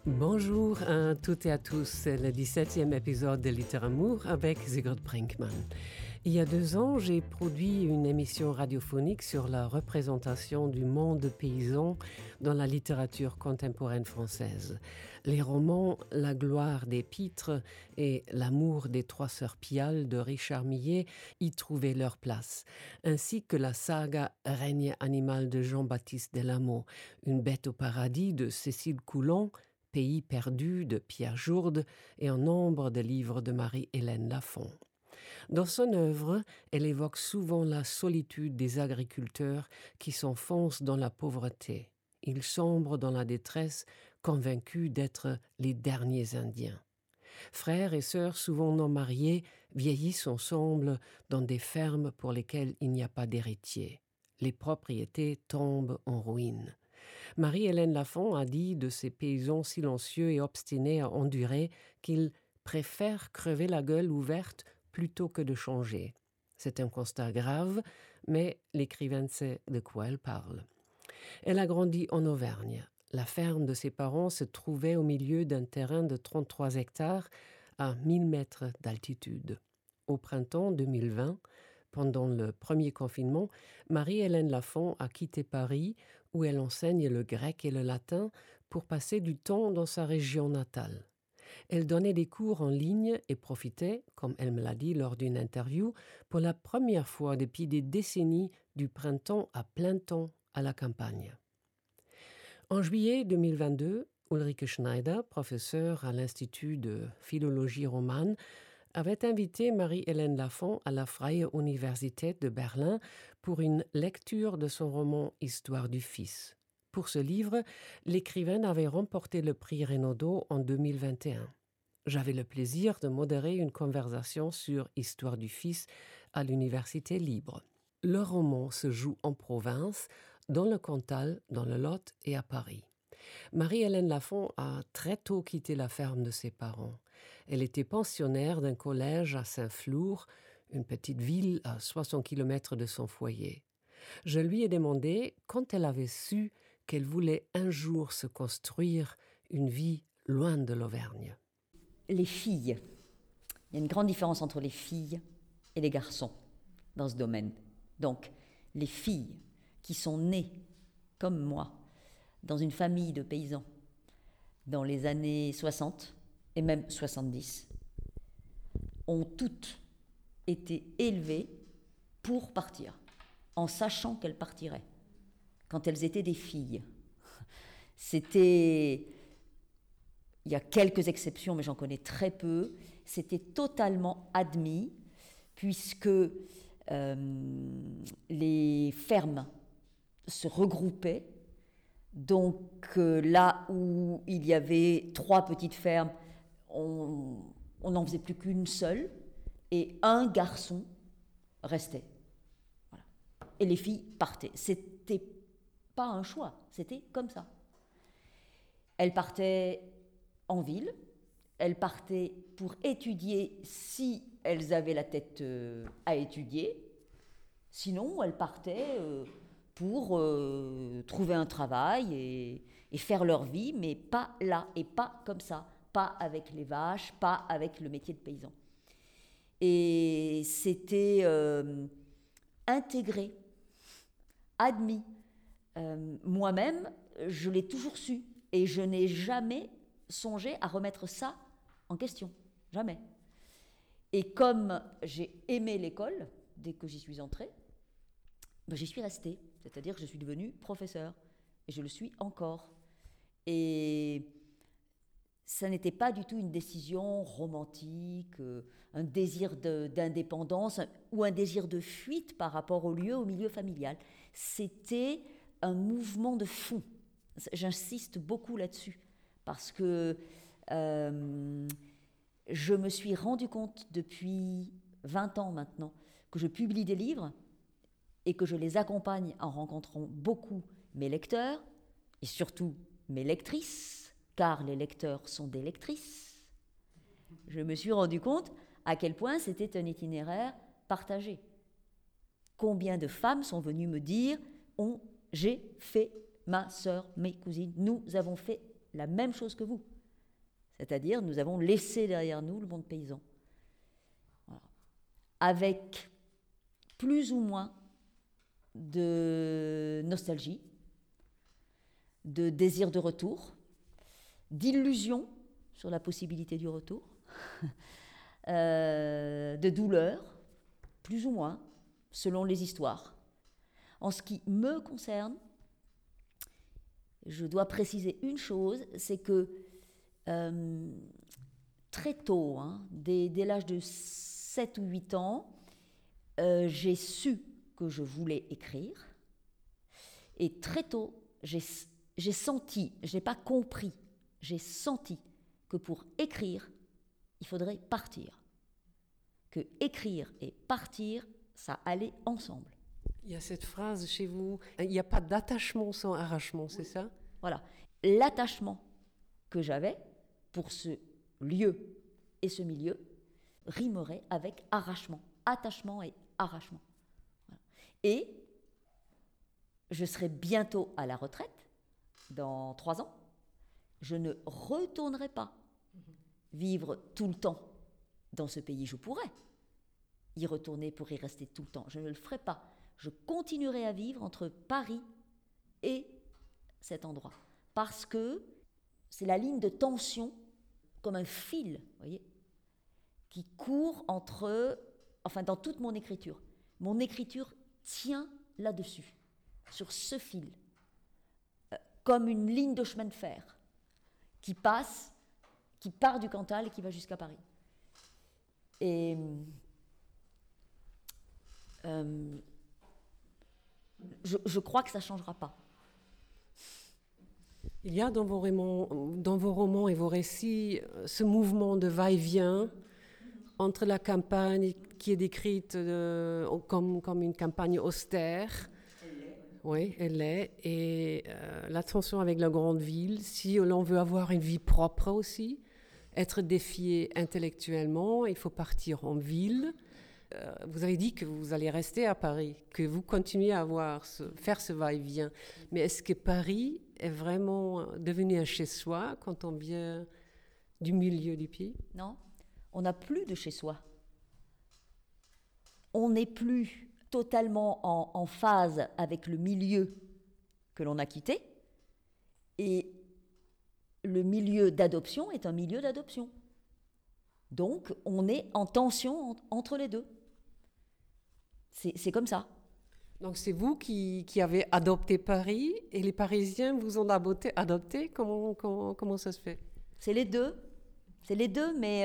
Bonjour à toutes et à tous, c'est le 17e épisode de Littéramour avec Sigrid Brinkmann. Il y a 2 ans, j'ai produit une émission radiophonique sur la représentation du monde paysan dans la littérature contemporaine française. Les romans La gloire des pitres et L'amour des 3 sœurs Pial de Richard Millet y trouvaient leur place, ainsi que la saga Règne animal de Jean-Baptiste Delamot, Une bête au paradis de Cécile Coulon, Pays perdu de Pierre Jourde et un nombre de livres de Marie-Hélène Lafon. Dans son œuvre, elle évoque souvent la solitude des agriculteurs qui s'enfoncent dans la pauvreté. Ils sombrent dans la détresse, convaincus d'être les derniers Indiens. Frères et sœurs souvent non mariés vieillissent ensemble dans des fermes pour lesquelles il n'y a pas d'héritier. Les propriétés tombent en ruine. Marie-Hélène Lafon a dit de ces paysans silencieux et obstinés à endurer qu'ils préfèrent crever la gueule ouverte plutôt que de changer. C'est un constat grave, mais l'écrivaine sait de quoi elle parle. Elle a grandi en Auvergne. La ferme de ses parents se trouvait au milieu d'un terrain de 33 hectares à 1000 mètres d'altitude. Au printemps 2020, pendant le premier confinement, Marie-Hélène Lafon a quitté Paris, où elle enseigne le grec et le latin, pour passer du temps dans sa région natale. Elle donnait des cours en ligne et profitait, comme elle me l'a dit lors d'une interview, pour la première fois depuis des décennies du printemps à plein temps à la campagne. En juillet 2022, Ulrike Schneider, professeure à l'Institut de philologie romane, avait invité Marie-Hélène Lafon à la Freie Universität de Berlin pour une lecture de son roman Histoire du fils. Pour ce livre, l'écrivaine avait remporté le prix Renaudot en 2021. J'avais le plaisir de modérer une conversation sur Histoire du fils à l'Université libre. Le roman se joue en province, dans le Cantal, dans le Lot et à Paris. Marie-Hélène Lafon a très tôt quitté la ferme de ses parents. Elle était pensionnaire d'un collège à Saint-Flour, une petite ville à 60 km de son foyer. Je lui ai demandé quand elle avait su qu'elle voulait un jour se construire une vie loin de l'Auvergne. Les filles. Il y a une grande différence entre les filles et les garçons dans ce domaine. Donc, les filles qui sont nées, comme moi, dans une famille de paysans, dans les années 60 et même 70, ont toutes été élevées pour partir, en sachant qu'elles partiraient, quand elles étaient des filles. C'était, il y a quelques exceptions, mais j'en connais très peu, c'était totalement admis, puisque les fermes se regroupaient. Donc là où il y avait 3 petites fermes, on n'en faisait plus qu'une seule, et un garçon restait. Voilà. Et les filles partaient. C'était pas un choix, c'était comme ça. Elles partaient en ville, elles partaient pour étudier si elles avaient la tête à étudier, sinon elles partaient pour trouver un travail et faire leur vie, mais pas là et pas comme ça, pas avec les vaches, pas avec le métier de paysan. Et c'était intégré, admis. Moi-même, je l'ai toujours su et je n'ai jamais songé à remettre ça en question, jamais. Et comme j'ai aimé l'école dès que j'y suis entrée, j'y suis restée, c'est-à-dire que je suis devenue professeure, et je le suis encore. Et ça n'était pas du tout une décision romantique, un désir d'indépendance ou un désir de fuite par rapport au milieu familial. C'était un mouvement de fond. J'insiste beaucoup là-dessus, parce que je me suis rendu compte depuis 20 ans maintenant que je publie des livres et que je les accompagne en rencontrant beaucoup mes lecteurs, et surtout mes lectrices, car les lecteurs sont des lectrices. Je me suis rendu compte à quel point c'était un itinéraire partagé. Combien de femmes sont venues me dire « J'ai fait, ma sœur, mes cousines, nous avons fait la même chose que vous. C'est-à-dire, nous avons laissé derrière nous le monde paysan. Voilà. Avec plus ou moins de nostalgie, de désir de retour, d'illusion sur la possibilité du retour, de douleur, plus ou moins, selon les histoires. En ce qui me concerne, je dois préciser une chose, c'est que très tôt, dès l'âge de 7 ou 8 ans, j'ai su que je voulais écrire. Et très tôt, j'ai senti, je n'ai pas compris, j'ai senti que pour écrire, il faudrait partir. Que écrire et partir, ça allait ensemble. Il y a cette phrase chez vous, il n'y a pas d'attachement sans arrachement, c'est ça? Voilà. L'attachement que j'avais pour ce lieu et ce milieu rimerait avec arrachement. Attachement et arrachement. Voilà. Et je serai bientôt à la retraite, dans 3 ans. Je ne retournerai pas vivre tout le temps dans ce pays. Je pourrais y retourner pour y rester tout le temps. Je ne le ferai pas. Je continuerai à vivre entre Paris et cet endroit. Parce que c'est la ligne de tension, comme un fil, vous voyez, qui court dans toute mon écriture. Mon écriture tient là-dessus, sur ce fil, comme une ligne de chemin de fer qui part du Cantal et qui va jusqu'à Paris. Et je crois que ça ne changera pas. Il y a dans vos romans et vos récits ce mouvement de va-et-vient entre la campagne qui est décrite comme une campagne austère. Oui, elle l'est. Et la tension avec la grande ville, si l'on veut avoir une vie propre aussi, être défié intellectuellement, il faut partir en ville. Vous avez dit que vous allez rester à Paris, que vous continuez à faire ce va-et-vient. Mais est-ce que Paris est vraiment devenu un chez-soi quand on vient du milieu du pays? Non, on n'a plus de chez-soi. On n'est plus totalement en phase avec le milieu que l'on a quitté. Et le milieu d'adoption est un milieu d'adoption. Donc, on est en tension entre les deux. C'est comme ça. Donc, c'est vous qui avez adopté Paris et les Parisiens vous ont adopté. Comment ça se fait? C'est les deux. C'est les deux, mais...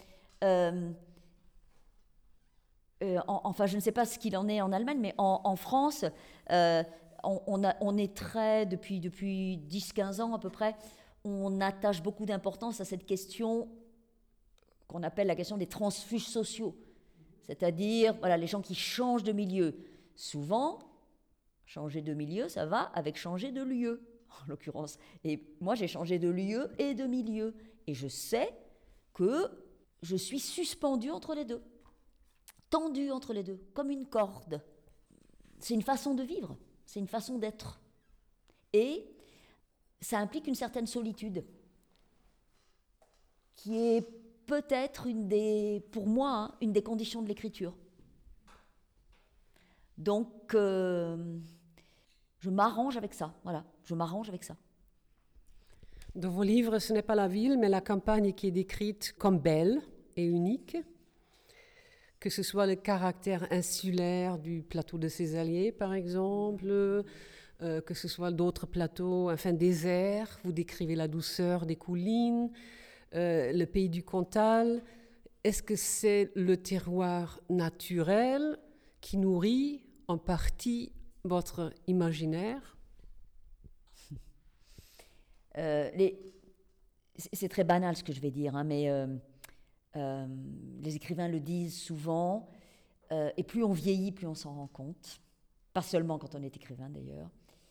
enfin, je ne sais pas ce qu'il en est en Allemagne, mais en France, on est très, depuis 10-15 ans à peu près, on attache beaucoup d'importance à cette question qu'on appelle la question des transfuges sociaux. C'est-à-dire, voilà, les gens qui changent de milieu. Souvent, changer de milieu, ça va avec changer de lieu, en l'occurrence. Et moi, j'ai changé de lieu et de milieu. Et je sais que je suis suspendue entre les deux, tendue entre les deux, comme une corde. C'est une façon de vivre, c'est une façon d'être. Et ça implique une certaine solitude, qui est peut-être pour moi, une des conditions de l'écriture. Donc, je m'arrange avec ça, voilà, je m'arrange avec ça. Dans vos livres, ce n'est pas la ville, mais la campagne qui est décrite comme belle et unique, que ce soit le caractère insulaire du plateau de Cézallier, par exemple, que ce soit d'autres plateaux, enfin déserts, vous décrivez la douceur des collines, le pays du Cantal. Est-ce que c'est le terroir naturel qui nourrit en partie votre imaginaire? C'est très banal ce que je vais dire, mais les écrivains le disent souvent, et plus on vieillit, plus on s'en rend compte, pas seulement quand on est écrivain d'ailleurs.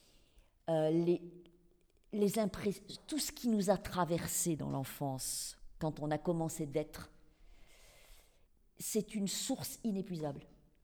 Tout ce qui nous a traversé dans l'enfance, quand on a commencé d'être, c'est une source inépuisable.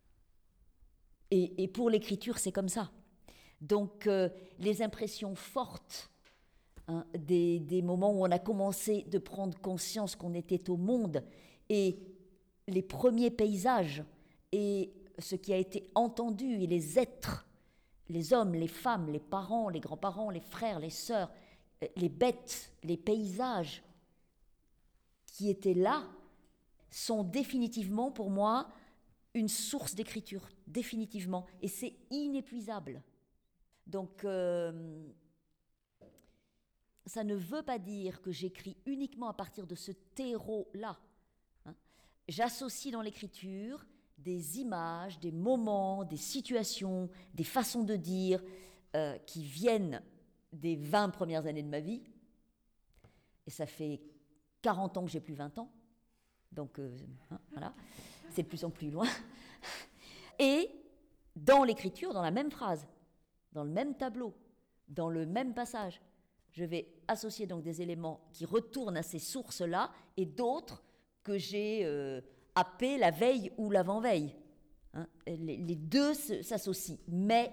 Et pour l'écriture, c'est comme ça. Donc, les impressions fortes hein, des moments où on a commencé de prendre conscience qu'on était au monde, et les premiers paysages, et ce qui a été entendu, et les êtres, les hommes, les femmes, les parents, les grands-parents, les frères, les sœurs, les bêtes, les paysages qui étaient là, sont définitivement pour moi une source d'écriture, définitivement, et c'est inépuisable. Donc, ça ne veut pas dire que j'écris uniquement à partir de ce terreau-là. Hein. J'associe dans l'écriture des images, des moments, des situations, des façons de dire qui viennent des 20 premières années de ma vie. Et ça fait 40 ans que j'ai plus 20 ans. Donc, voilà, c'est de plus en plus loin. Et dans l'écriture, dans la même phrase, dans le même tableau, dans le même passage, je vais associer donc des éléments qui retournent à ces sources-là et d'autres que j'ai happés la veille ou l'avant-veille. Hein, les deux s'associent. Mais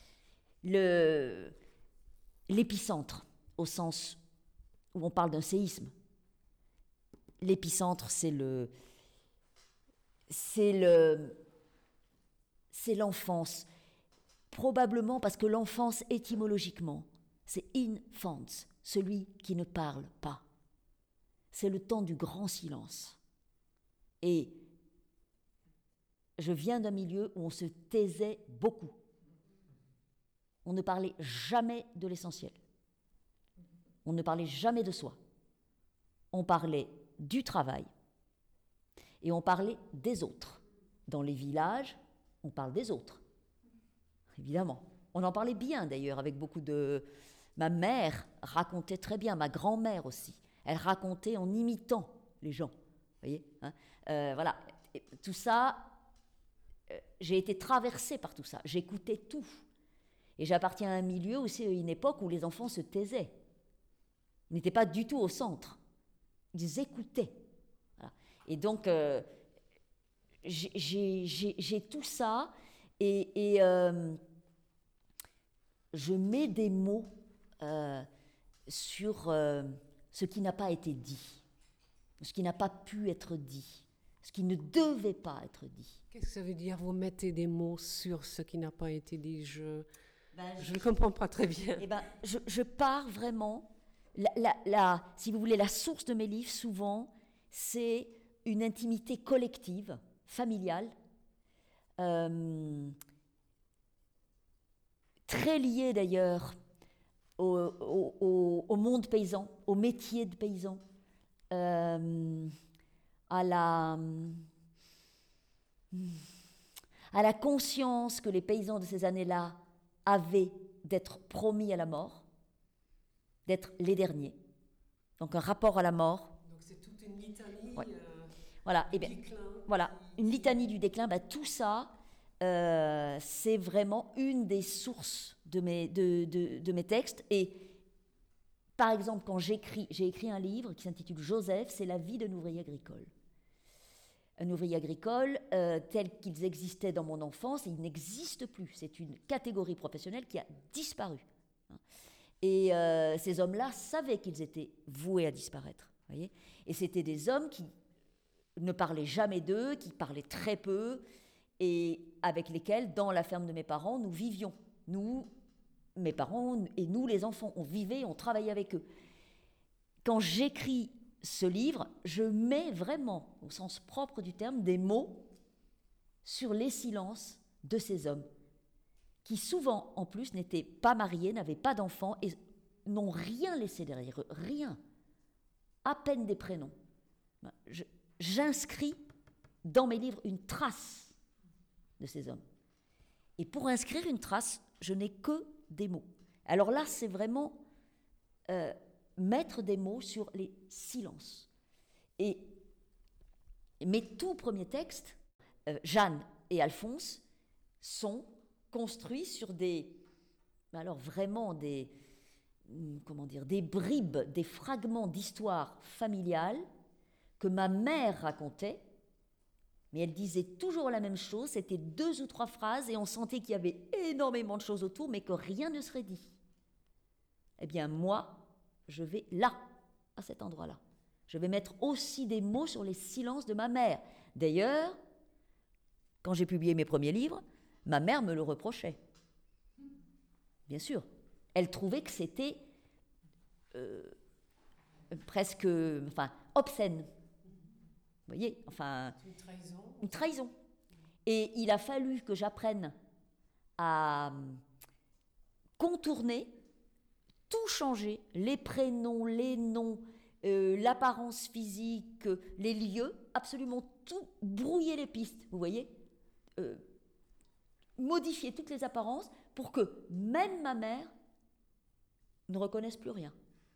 l'épicentre, au sens où on parle d'un séisme, l'épicentre, c'est l'enfance. Probablement parce que l'enfance, étymologiquement, c'est infants, celui qui ne parle pas. C'est le temps du grand silence. Et je viens d'un milieu où on se taisait beaucoup. On ne parlait jamais de l'essentiel. On ne parlait jamais de soi. On parlait du travail et on parlait des autres. Dans les villages, on parle des autres, évidemment. On en parlait bien d'ailleurs avec beaucoup de... Ma mère racontait très bien, ma grand-mère aussi. Elle racontait en imitant les gens, vous voyez, hein, voilà. Et tout ça, j'ai été traversée par tout ça. J'écoutais tout. Et j'appartiens à un milieu où c'est une époque où les enfants se taisaient. Ils n'étaient pas du tout au centre. Ils écoutaient. Voilà. Et donc, j'ai tout ça et je mets des mots sur ce qui n'a pas été dit, ce qui n'a pas pu être dit, ce qui ne devait pas être dit. Qu'est-ce que ça veut dire, vous mettez des mots sur ce qui n'a pas été dit? Je ne comprends pas très bien. Eh ben, je pars vraiment... si vous voulez, la source de mes livres, souvent, c'est une intimité collective, familiale, très liée d'ailleurs au monde paysan, au métier de paysan, à la conscience que les paysans de ces années-là avaient d'être promis à la mort, d'être les derniers. Donc un rapport à la mort. Donc c'est toute une litanie. Ouais. Voilà. Du déclin. Voilà, une litanie du déclin. Tout ça, c'est vraiment une des sources de mes textes. Et par exemple, quand j'ai écrit un livre qui s'intitule Joseph, c'est la vie d'un ouvrier agricole. Un ouvrier agricole tel qu'ils existaient dans mon enfance, et il n'existe plus. C'est une catégorie professionnelle qui a disparu. Et ces hommes-là savaient qu'ils étaient voués à disparaître. Voyez, et c'était des hommes qui ne parlaient jamais d'eux, qui parlaient très peu, et avec lesquels, dans la ferme de mes parents, nous vivions. Nous, mes parents et nous, les enfants, on vivait, on travaillait avec eux. Quand j'écris ce livre, je mets vraiment, au sens propre du terme, des mots sur les silences de ces hommes, qui souvent, en plus, n'étaient pas mariés, n'avaient pas d'enfants et n'ont rien laissé derrière eux, rien, à peine des prénoms. J'inscris dans mes livres une trace de ces hommes. Et pour inscrire une trace, je n'ai que des mots. Alors là, c'est vraiment mettre des mots sur les silences. Et mes tout premiers textes, Jeanne et Alphonse, sont construits sur des bribes, des fragments d'histoire familiale que ma mère racontait, mais elle disait toujours la même chose, c'était 2 ou 3 phrases et on sentait qu'il y avait énormément de choses autour, mais que rien ne serait dit. Eh bien moi, je vais là, à cet endroit-là. Je vais mettre aussi des mots sur les silences de ma mère. D'ailleurs, quand j'ai publié mes premiers livres, ma mère me le reprochait. Bien sûr. Elle trouvait que c'était presque obscène. Vous voyez, Une trahison. une trahison. Et il a fallu que j'apprenne à contourner, tout changer, les prénoms, les noms, l'apparence physique, les lieux, absolument tout, brouiller les pistes, vous voyez, modifier toutes les apparences pour que même ma mère ne reconnaisse plus rien.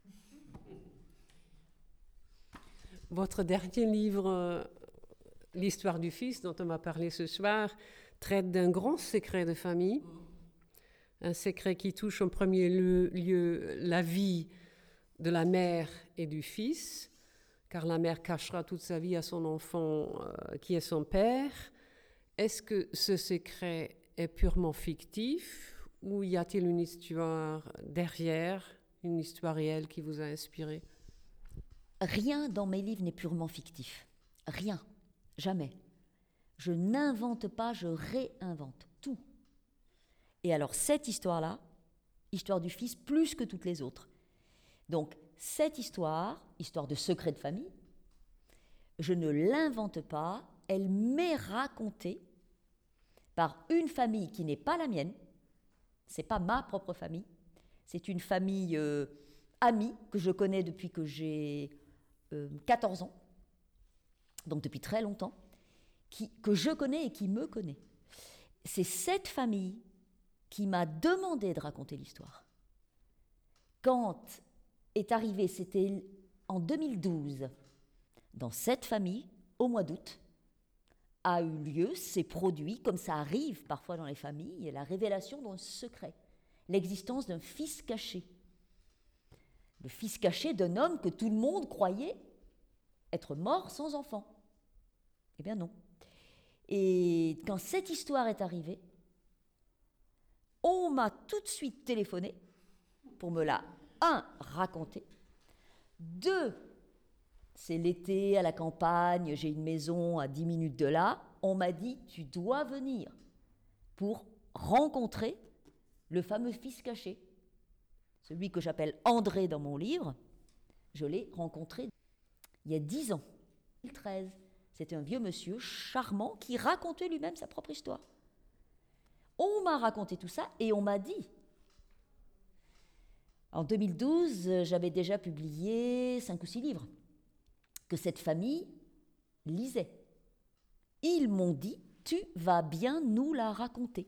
Votre dernier livre, L'histoire du fils, dont on m'a parlé ce soir, traite d'un grand secret de famille, un secret qui touche en premier lieu la vie de la mère et du fils, car la mère cachera toute sa vie à son enfant qui est son père. Est-ce que ce secret est purement fictif ou y a-t-il une histoire derrière, une histoire réelle qui vous a inspiré? Rien dans mes livres n'est purement fictif. Rien. Jamais. Je n'invente pas, je réinvente tout. Et alors cette histoire-là, histoire du fils, plus que toutes les autres. Donc cette histoire de secret de famille, je ne l'invente pas, elle m'est racontée par une famille qui n'est pas la mienne, c'est pas ma propre famille, c'est une famille amie que je connais depuis que j'ai 14 ans, donc depuis très longtemps, que je connais et qui me connaît. C'est cette famille qui m'a demandé de raconter l'histoire. Quand est arrivé, c'était en 2012, dans cette famille, au mois d'août, a eu lieu, s'est produit, comme ça arrive parfois dans les familles, la révélation d'un secret, l'existence d'un fils caché. Le fils caché d'un homme que tout le monde croyait être mort sans enfant. Eh bien non. Et quand cette histoire est arrivée, on m'a tout de suite téléphoné pour me la, raconter. 2, c'est l'été à la campagne, j'ai une maison à 10 minutes de là, on m'a dit tu dois venir pour rencontrer le fameux fils caché. Celui que j'appelle André dans mon livre, je l'ai rencontré il y a 10 ans, 2013. C'était un vieux monsieur charmant qui racontait lui-même sa propre histoire. On m'a raconté tout ça et on m'a dit, en 2012, j'avais déjà publié 5 ou 6 livres, que cette famille lisait. Ils m'ont dit, tu vas bien nous la raconter.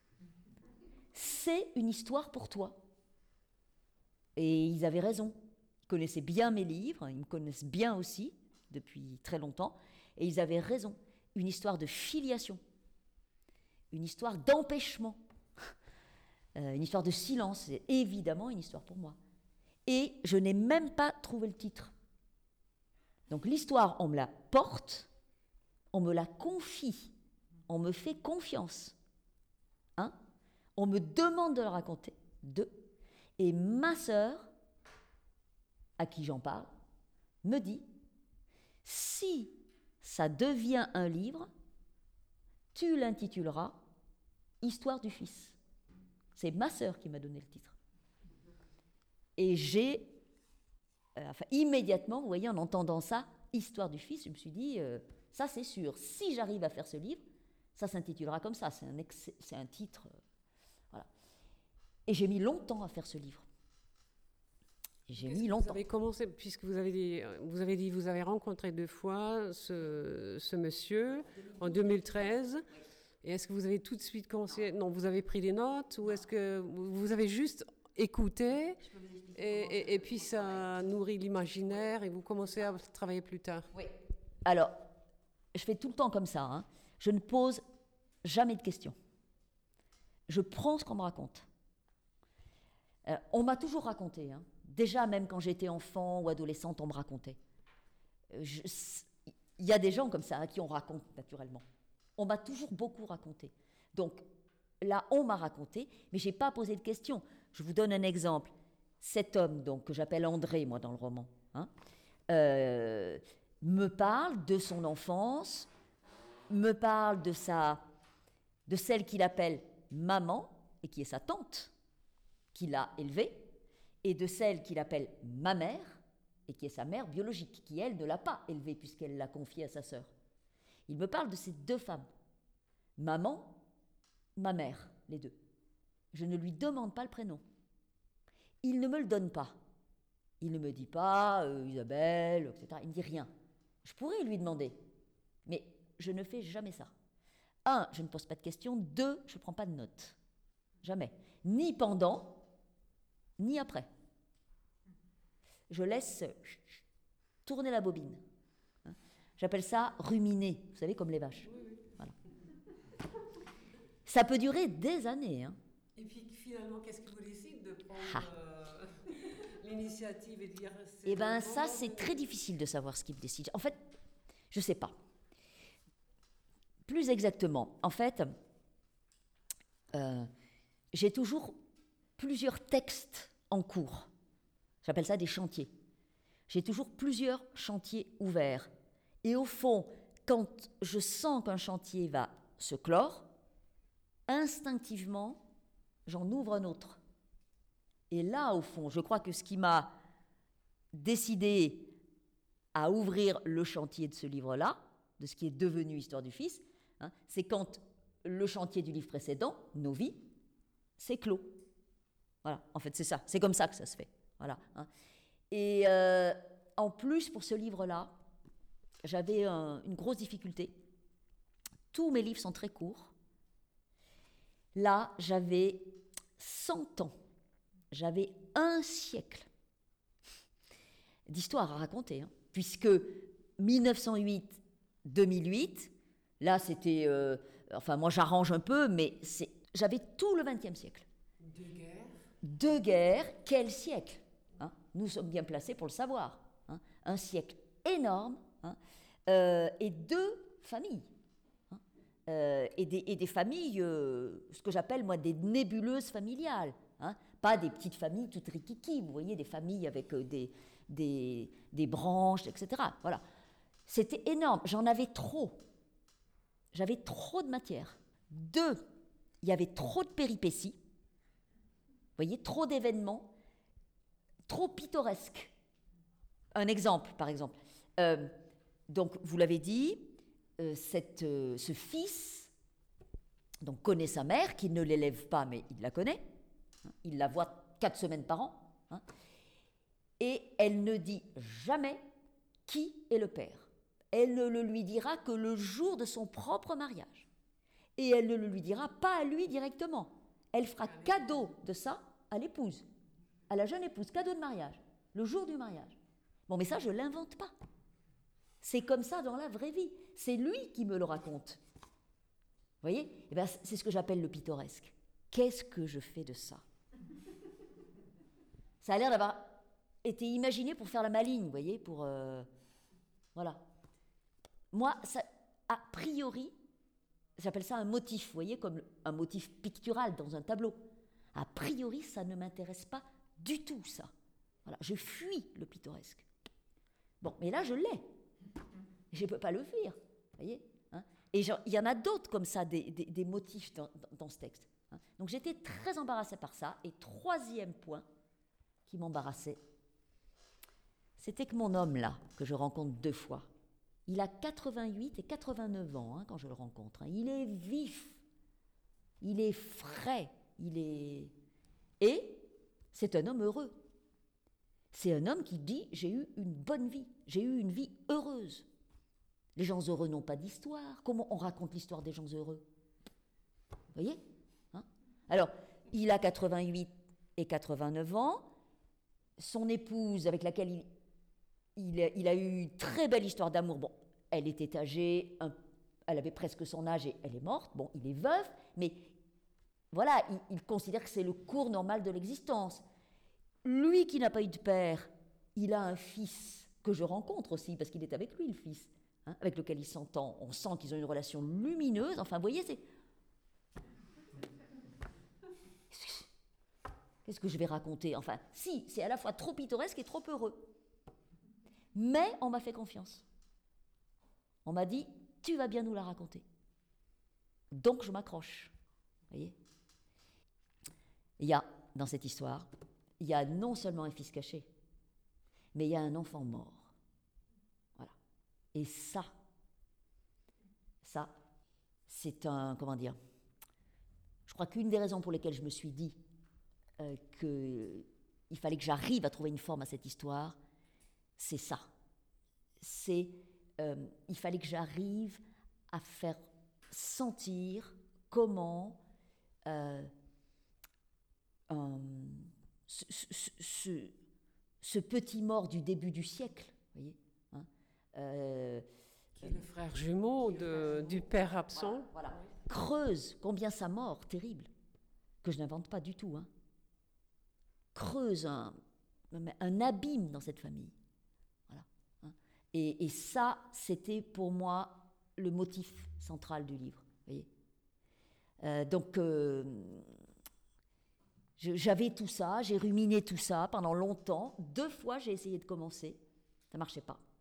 C'est une histoire pour toi. Et ils avaient raison. Ils connaissaient bien mes livres, ils me connaissent bien aussi, depuis très longtemps, et ils avaient raison. Une histoire de filiation, une histoire d'empêchement, une histoire de silence, c'est évidemment une histoire pour moi. Et je n'ai même pas trouvé le titre. Donc l'histoire, on me la porte, on me la confie, on me fait confiance. 1, on me demande de la raconter. 2, et ma sœur, à qui j'en parle, me dit, si ça devient un livre, tu l'intituleras Histoire du fils. C'est ma sœur qui m'a donné le titre. Et j'ai, immédiatement, vous voyez, en entendant ça, Histoire du fils, je me suis dit, ça c'est sûr, si j'arrive à faire ce livre, ça s'intitulera comme ça, c'est un titre. Voilà. Et j'ai mis longtemps à faire ce livre. J'ai mis longtemps. Vous avez commencé, puisque vous avez dit, vous avez rencontré 2 fois ce monsieur en 2013. Et est-ce que vous avez tout de suite commencé? Non, vous avez pris des notes ou est-ce que vous avez juste écouté et puis ça nourrit l'imaginaire et vous commencez à travailler plus tard? Oui. Alors, je fais tout le temps comme ça. Hein. Je ne pose jamais de questions. Je prends ce qu'on me raconte. On m'a toujours raconté. Hein. Déjà, même quand j'étais enfant ou adolescente, on me racontait. Il y a des gens comme ça hein, qui on raconte naturellement. On m'a toujours beaucoup raconté. Donc là, on m'a raconté, mais je n'ai pas posé de questions. Je vous donne un exemple. cet homme, donc, que j'appelle André, moi, dans le roman, hein, me parle de son enfance, me parle de celle qu'il appelle maman, et qui est sa tante, qui l'a élevée, et de celle qu'il appelle ma mère, et qui est sa mère biologique, qui, elle, ne l'a pas élevée, puisqu'elle l'a confiée à sa sœur. Il me parle de ces deux femmes, maman, ma mère, les deux. Je ne lui demande pas le prénom. Il ne me le donne pas. Il ne me dit pas Isabelle, etc. Il ne dit rien. Je pourrais lui demander, mais je ne fais jamais ça. Un, je ne pose pas de questions. Deux, je ne prends pas de notes. Jamais. Ni pendant, ni après. Je laisse tourner la bobine. J'appelle ça ruminer, vous savez, comme les vaches. Voilà. Ça peut durer des années. Hein. Et puis finalement, qu'est-ce qui vous décide de prendre l'initiative et de dire... Eh bien, ça, c'est très difficile de savoir ce qui me décide. En fait, je ne sais pas. Plus exactement, en fait, j'ai toujours plusieurs textes en cours. J'appelle ça des chantiers. J'ai toujours plusieurs chantiers ouverts. Et au fond, quand je sens qu'un chantier va se clore, instinctivement, j'en ouvre un autre. Et là, au fond, je crois que ce qui m'a décidé à ouvrir le chantier de ce livre-là, de ce qui est devenu Histoire du Fils, hein, c'est quand le chantier du livre précédent, Nos vies, s'est clos. Voilà, en fait, c'est ça. C'est comme ça que ça se fait. Voilà. Hein. Et en plus, pour ce livre-là, j'avais une grosse difficulté. Tous mes livres sont très courts. Là, j'avais 100 ans. J'avais un siècle d'histoire à raconter. Hein, puisque 1908-2008, là, c'était... enfin, moi, j'arrange un peu, mais j'avais tout le XXe siècle. Deux guerres, quel siècle hein. Nous sommes bien placés pour le savoir. Hein, un siècle énorme, hein, et deux familles. Hein, et des familles, ce que j'appelle, moi, des nébuleuses familiales. Hein, pas des petites familles toutes rikiki, vous voyez, des familles avec des branches, etc. Voilà. C'était énorme. J'en avais trop. J'avais trop de matière. Deux, il y avait trop de péripéties. Vous voyez, trop d'événements, trop pittoresques. Un exemple, par exemple. Donc, vous l'avez dit, ce fils donc, connaît sa mère, qui ne l'élève pas, mais il la connaît. Il la voit 4 semaines par an. Hein, et elle ne dit jamais qui est le père. Elle ne le lui dira que le jour de son propre mariage. Et elle ne le lui dira pas à lui directement. Elle fera cadeau de ça à l'épouse, à la jeune épouse, cadeau de mariage, le jour du mariage. Bon, mais ça, je ne l'invente pas. C'est comme ça dans la vraie vie. C'est lui qui me le raconte. Vous voyez ? Eh bien, c'est ce que j'appelle le pittoresque. Qu'est-ce que je fais de ça ? Ça a l'air d'avoir été imaginé pour faire la maligne, vous voyez, pour... voilà. Moi, ça, a priori, j'appelle ça un motif, vous voyez, comme un motif pictural dans un tableau. A priori, ça ne m'intéresse pas du tout, ça. Voilà, je fuis le pittoresque. Bon, mais là, je l'ai. Je ne peux pas le fuir, vous voyez, hein. Et il y en a d'autres comme ça, des motifs dans ce texte. Hein. Donc j'étais très embarrassée par ça. Et troisième point qui m'embarrassait, c'était que mon homme, là, que je rencontre 2 fois, il a 88 et 89 ans hein, quand je le rencontre. Hein. Il est vif, il est frais, Et c'est un homme heureux. C'est un homme qui dit « j'ai eu une bonne vie, j'ai eu une vie heureuse ». Les gens heureux n'ont pas d'histoire. Comment on raconte l'histoire des gens heureux ? Vous voyez hein ? Alors, il a 88 et 89 ans. Son épouse, avec laquelle il a eu une très belle histoire d'amour. Bon, elle était âgée, elle avait presque son âge et elle est morte. Bon, il est veuf, mais voilà, il considère que c'est le cours normal de l'existence. Lui qui n'a pas eu de père, il a un fils que je rencontre aussi, parce qu'il est avec lui, le fils, hein, avec lequel il s'entend. On sent qu'ils ont une relation lumineuse. Enfin, vous voyez, c'est... qu'est-ce que je vais raconter? Enfin, si, c'est à la fois trop pittoresque et trop heureux. Mais on m'a fait confiance. On m'a dit, tu vas bien nous la raconter. Donc je m'accroche. Vous voyez? Il y a, dans cette histoire, il y a non seulement un fils caché, mais il y a un enfant mort. Voilà. Et ça, c'est un, comment dire, je crois qu'une des raisons pour lesquelles je me suis dit qu'il fallait que j'arrive à trouver une forme à cette histoire, c'est ça. Il fallait que j'arrive à faire sentir comment ce petit mort du début du siècle, vous voyez, hein, qui est le frère jumeau du père absent. Voilà. Creuse combien sa mort terrible, que je n'invente pas du tout, hein, creuse un abîme dans cette famille. Voilà, hein. Et ça, c'était pour moi le motif central du livre. Vous voyez. Donc, j'avais tout ça, j'ai ruminé tout ça pendant longtemps. 2 fois, j'ai essayé de commencer, ça ne marchait pas.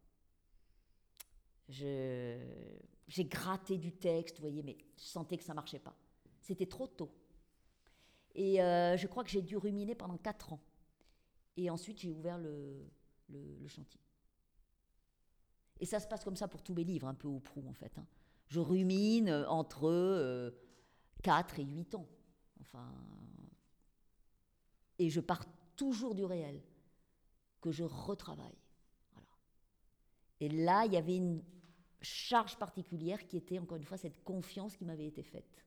J'ai gratté du texte, vous voyez, mais je sentais que ça ne marchait pas. C'était trop tôt. Et je crois que j'ai dû ruminer pendant 4 ans. Et ensuite, j'ai ouvert le chantier. Et ça se passe comme ça pour tous mes livres, un peu au prou, en fait, hein. Je rumine entre 4 et 8 ans. Enfin, et je pars toujours du réel, que je retravaille. Voilà. Et là, il y avait une charge particulière qui était, encore une fois, cette confiance qui m'avait été faite.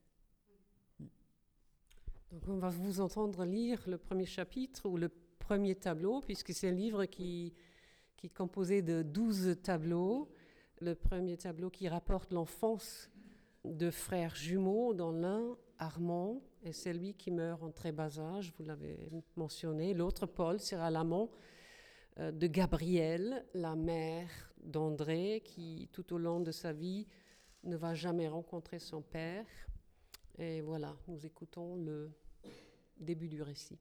Donc on va vous entendre lire le premier chapitre ou le premier tableau, puisque c'est un livre qui est composé de 12 tableaux. Le premier tableau qui rapporte l'enfance de frères jumeaux, dont l'un, Armand, est celui qui meurt en très bas âge, vous l'avez mentionné. L'autre, Paul, sera l'amant de Gabrielle, la mère d'André, qui tout au long de sa vie ne va jamais rencontrer son père. Et voilà, nous écoutons le début du récit.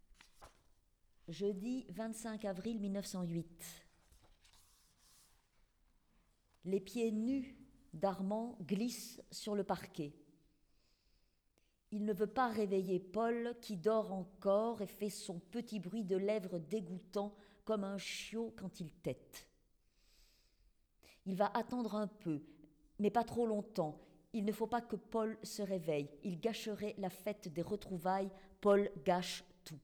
Jeudi 25 avril 1908. Les pieds nus d'Armand glissent sur le parquet. Il ne veut pas réveiller Paul qui dort encore et fait son petit bruit de lèvres dégoûtant comme un chiot quand il tète. Il va attendre un peu, mais pas trop longtemps. Il ne faut pas que Paul se réveille. Il gâcherait la fête des retrouvailles. Paul gâche tout.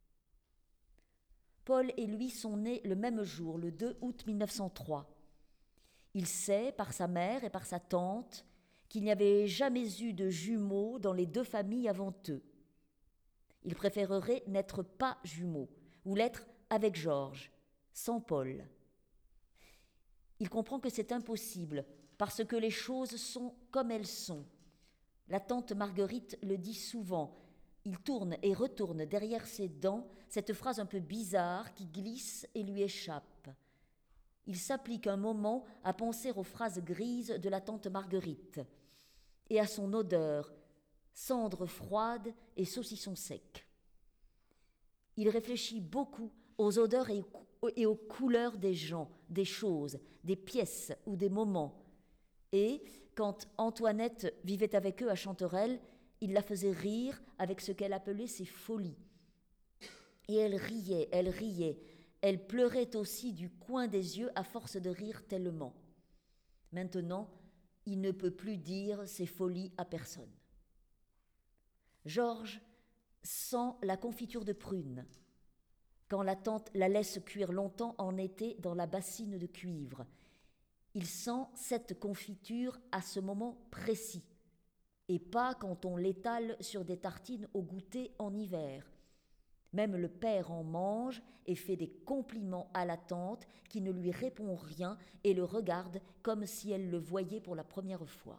Paul et lui sont nés le même jour, le 2 août 1903. Il sait, par sa mère et par sa tante, qu'il n'y avait jamais eu de jumeaux dans les 2 familles avant eux. Il préférerait n'être pas jumeaux, ou l'être avec Georges, sans Paul. Il comprend que c'est impossible, parce que les choses sont comme elles sont. La tante Marguerite le dit souvent. Il tourne et retourne derrière ses dents cette phrase un peu bizarre qui glisse et lui échappe. Il s'applique un moment à penser aux phrases grises de la tante Marguerite et à son odeur, cendre froide et saucisson sec. Il réfléchit beaucoup aux odeurs et aux couleurs des gens, des choses, des pièces ou des moments. Et, quand Antoinette vivait avec eux à Chanterelle, il la faisait rire avec ce qu'elle appelait ses folies. Et elle riait, elle pleurait aussi du coin des yeux à force de rire tellement. Maintenant, il ne peut plus dire ses folies à personne. Georges sent la confiture de prunes, quand la tante la laisse cuire longtemps en été dans la bassine de cuivre. Il sent cette confiture à ce moment précis, et pas quand on l'étale sur des tartines au goûter en hiver. Même le père en mange et fait des compliments à la tante qui ne lui répond rien et le regarde comme si elle le voyait pour la première fois.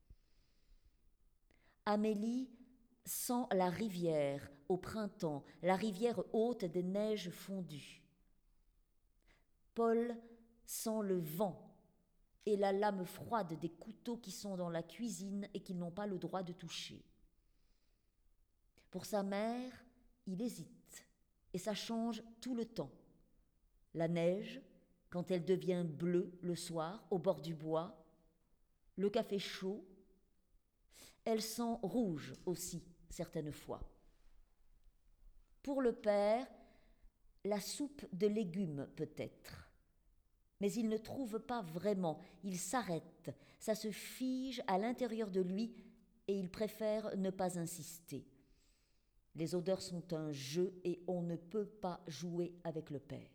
Amélie sent la rivière au printemps, la rivière haute des neiges fondues. Paul sent le vent et la lame froide des couteaux qui sont dans la cuisine et qu'ils n'ont pas le droit de toucher. Pour sa mère, il hésite. et ça change tout le temps. La neige, quand elle devient bleue le soir, au bord du bois, le café chaud, elle sent rouge aussi, certaines fois. Pour le père, la soupe de légumes peut-être. Mais il ne trouve pas vraiment, il s'arrête, ça se fige à l'intérieur de lui et il préfère ne pas insister. Les odeurs sont un jeu et on ne peut pas jouer avec le père.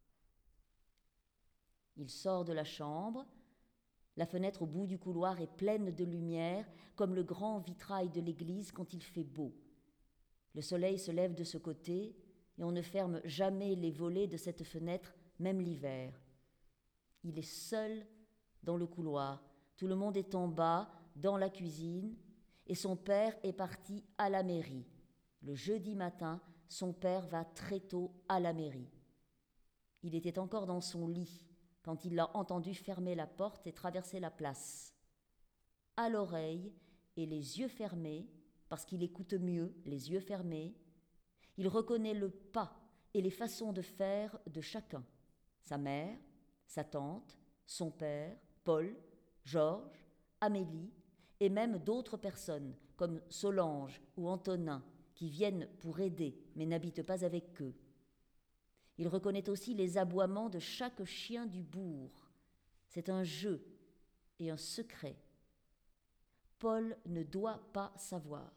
Il sort de la chambre, la fenêtre au bout du couloir est pleine de lumière, comme le grand vitrail de l'église quand il fait beau. Le soleil se lève de ce côté et on ne ferme jamais les volets de cette fenêtre, même l'hiver. Il est seul dans le couloir. Tout le monde est en bas, dans la cuisine, et son père est parti à la mairie. Le jeudi matin, son père va très tôt à la mairie. Il était encore dans son lit quand il l'a entendu fermer la porte et traverser la place. À l'oreille et les yeux fermés, parce qu'il écoute mieux les yeux fermés, il reconnaît le pas et les façons de faire de chacun. Sa mère, sa tante, son père, Paul, Georges, Amélie, et même d'autres personnes comme Solange ou Antonin qui viennent pour aider mais n'habitent pas avec eux. Il reconnaît aussi les aboiements de chaque chien du bourg. C'est un jeu et un secret. Paul ne doit pas savoir.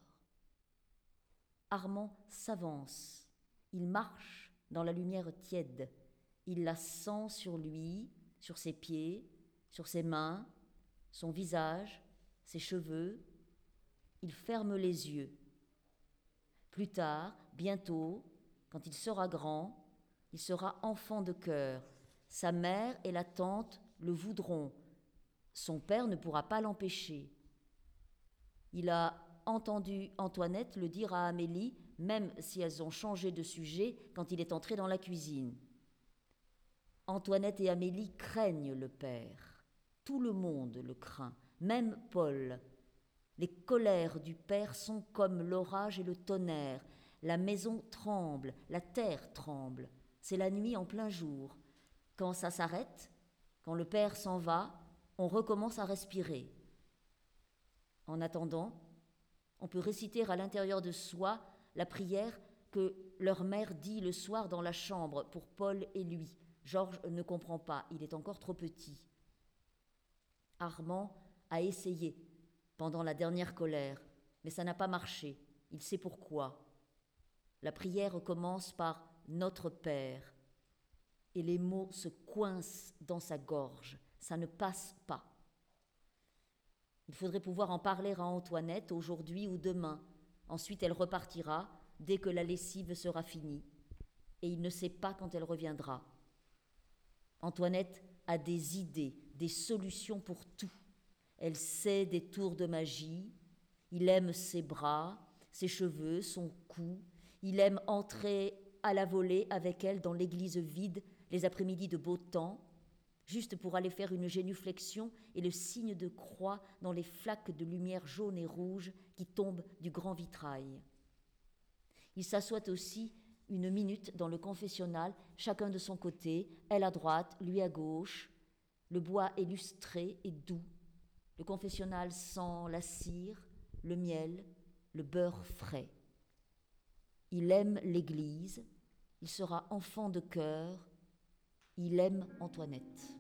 Armand s'avance. Il marche dans la lumière tiède. Il la sent sur lui, sur ses pieds, sur ses mains, son visage, ses cheveux. Il ferme les yeux. Plus tard, bientôt, quand il sera grand, il sera enfant de cœur. Sa mère et la tante le voudront. Son père ne pourra pas l'empêcher. Il a entendu Antoinette le dire à Amélie, même si elles ont changé de sujet quand il est entré dans la cuisine. Antoinette et Amélie craignent le père. Tout le monde le craint, même Paul. Les colères du père sont comme l'orage et le tonnerre. La maison tremble, la terre tremble. C'est la nuit en plein jour. Quand ça s'arrête, quand le père s'en va, on recommence à respirer. En attendant, on peut réciter à l'intérieur de soi la prière que leur mère dit le soir dans la chambre pour Paul et lui. Georges ne comprend pas, il est encore trop petit. Armand a essayé pendant la dernière colère, mais ça n'a pas marché. Il sait pourquoi. La prière commence par « Notre Père » et les mots se coincent dans sa gorge. Ça ne passe pas. Il faudrait pouvoir en parler à Antoinette aujourd'hui ou demain. Ensuite, elle repartira dès que la lessive sera finie. Et il ne sait pas quand elle reviendra. Antoinette a des idées, des solutions pour tout. Elle sait des tours de magie. Il aime ses bras, ses cheveux, son cou. Il aime entrer à la volée avec elle dans l'église vide les après-midi de beau temps, juste pour aller faire une génuflexion et le signe de croix dans les flaques de lumière jaune et rouge qui tombent du grand vitrail. Il s'assoit aussi une minute dans le confessionnal, chacun de son côté, elle à droite, lui à gauche. Le bois est lustré et doux. Le confessionnal sent la cire, le miel, le beurre frais. Il aime l'Église, il sera enfant de cœur, il aime Antoinette.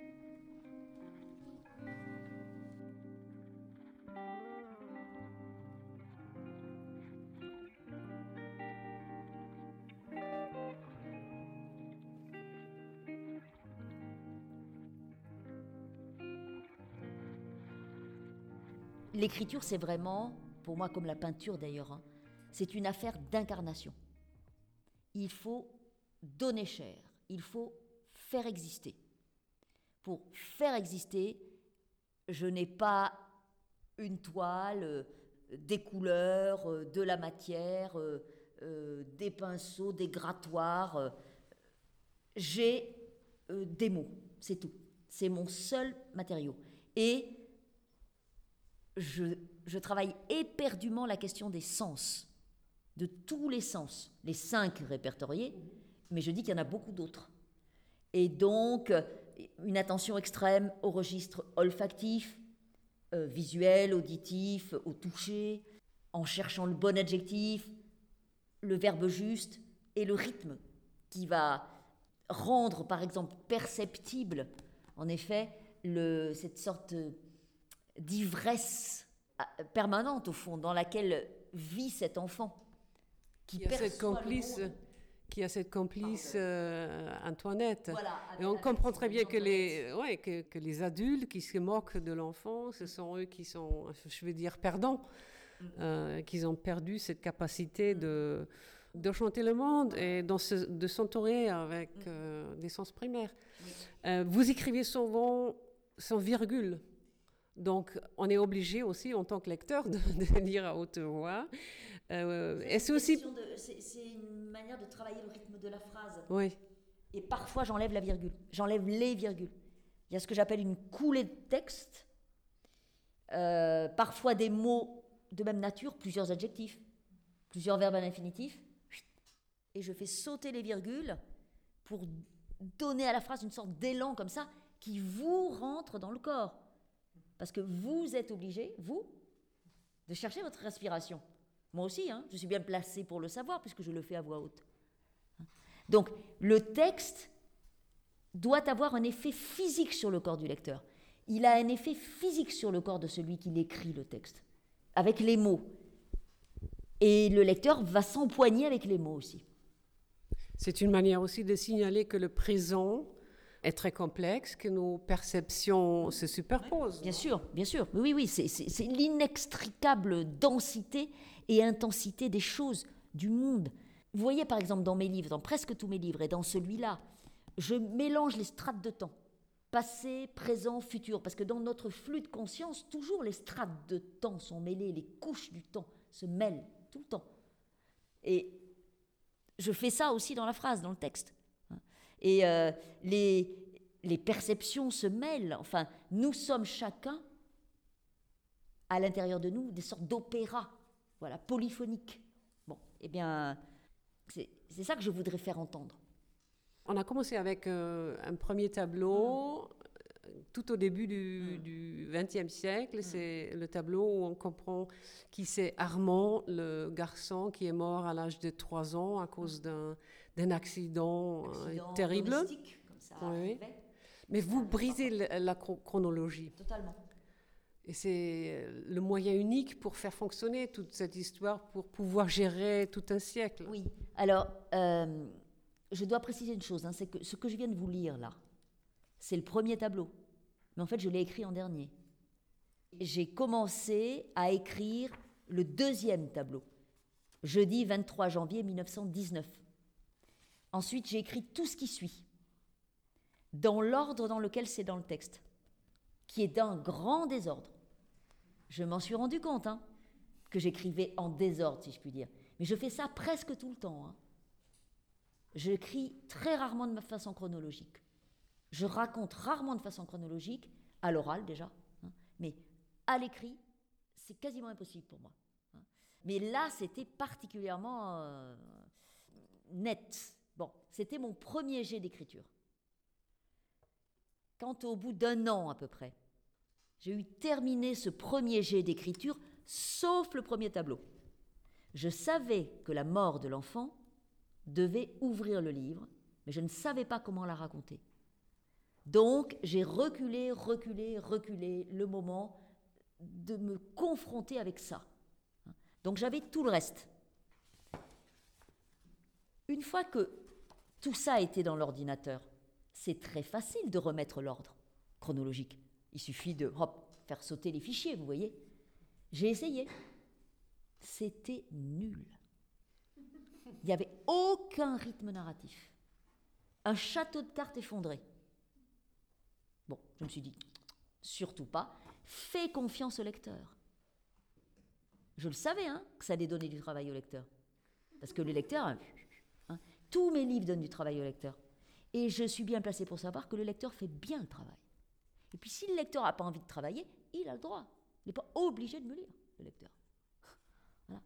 L'écriture, c'est vraiment, pour moi comme la peinture d'ailleurs, c'est une affaire d'incarnation. Il faut donner chair, il faut faire exister. Pour faire exister, je n'ai pas une toile, des couleurs, de la matière, des pinceaux, des grattoirs. J'ai des mots, c'est tout. C'est mon seul matériau. Et je travaille éperdument la question des sens. de tous les sens, les 5 répertoriés, mais je dis qu'il y en a beaucoup d'autres. Et donc, une attention extrême au registre olfactif, visuel, auditif, au toucher, en cherchant le bon adjectif, le verbe juste et le rythme qui va rendre, par exemple, perceptible, en effet, cette sorte d'ivresse permanente, au fond, dans laquelle vit cet enfant. Qui a cette complice Antoinette. Voilà, et on comprend très bien que les adultes qui se moquent de l'enfant, ce sont eux qui sont, je veux dire, perdants, qu'ils ont perdu cette capacité de chanter le monde et de s'entourer avec des sens primaires. Vous écrivez souvent sans virgule. Donc, on est obligé aussi, en tant que lecteur, de lire à haute voix. C'est une manière de travailler le rythme de la phrase. Oui. Et parfois, j'enlève la virgule. J'enlève les virgules. Il y a ce que j'appelle une coulée de texte. Parfois, des mots de même nature, plusieurs adjectifs, plusieurs verbes à l'infinitif. Et je fais sauter les virgules pour donner à la phrase une sorte d'élan comme ça qui vous rentre dans le corps. Parce que vous êtes obligé, vous, de chercher votre respiration. Moi aussi, je suis bien placée pour le savoir puisque je le fais à voix haute. Donc, le texte doit avoir un effet physique sur le corps du lecteur. Il a un effet physique sur le corps de celui qui écrit le texte, avec les mots. Et le lecteur va s'empoigner avec les mots aussi. C'est une manière aussi de signaler que le présent est très complexe, que nos perceptions se superposent. Bien sûr. Oui, c'est l'inextricable densité et intensité des choses, du monde. Vous voyez par exemple dans mes livres, dans presque tous mes livres, et dans celui-là, je mélange les strates de temps, passé, présent, futur, parce que dans notre flux de conscience, toujours les strates de temps sont mêlées, les couches du temps se mêlent tout le temps. Et je fais ça aussi dans la phrase, dans le texte. Et les perceptions se mêlent. Enfin, nous sommes chacun, à l'intérieur de nous, des sortes d'opéras, voilà, polyphoniques. Bon, eh bien, c'est ça que je voudrais faire entendre. On a commencé avec un premier tableau, tout au début du XXe siècle. C'est le tableau où on comprend qui c'est Armand, le garçon qui est mort à l'âge de 3 ans à cause d'un accident terrible. Comme ça oui. Mais vous brisez la chronologie. Totalement. Et c'est le moyen unique pour faire fonctionner toute cette histoire, pour pouvoir gérer tout un siècle. Oui. Alors, je dois préciser une chose, c'est que ce que je viens de vous lire là, c'est le premier tableau. Mais en fait, je l'ai écrit en dernier. J'ai commencé à écrire le deuxième tableau, jeudi 23 janvier 1919. Ensuite, j'ai écrit tout ce qui suit, dans l'ordre dans lequel c'est dans le texte, qui est d'un grand désordre. Je m'en suis rendu compte, que j'écrivais en désordre, si je puis dire. Mais je fais ça presque tout le temps. J'écris très rarement de façon chronologique. Je raconte rarement de façon chronologique, à l'oral déjà, mais à l'écrit, c'est quasiment impossible pour moi. Mais là, c'était particulièrement net. Bon, c'était mon premier jet d'écriture. Quand au bout d'1 an à peu près, j'ai eu terminé ce premier jet d'écriture, sauf le premier tableau. Je savais que la mort de l'enfant devait ouvrir le livre, mais je ne savais pas comment la raconter. Donc, j'ai reculé le moment de me confronter avec ça. Donc, j'avais tout le reste. Une fois que tout ça était dans l'ordinateur, c'est très facile de remettre l'ordre chronologique. Il suffit de faire sauter les fichiers, vous voyez. J'ai essayé. C'était nul. Il n'y avait aucun rythme narratif. Un château de cartes effondré. Bon, je me suis dit, surtout pas, fais confiance au lecteur. Je le savais, que ça allait donner du travail au lecteur. Parce que le lecteur, tous mes livres donnent du travail au lecteur. Et je suis bien placée pour savoir que le lecteur fait bien le travail. Et puis si le lecteur n'a pas envie de travailler, il a le droit. Il n'est pas obligé de me lire, le lecteur. Voilà.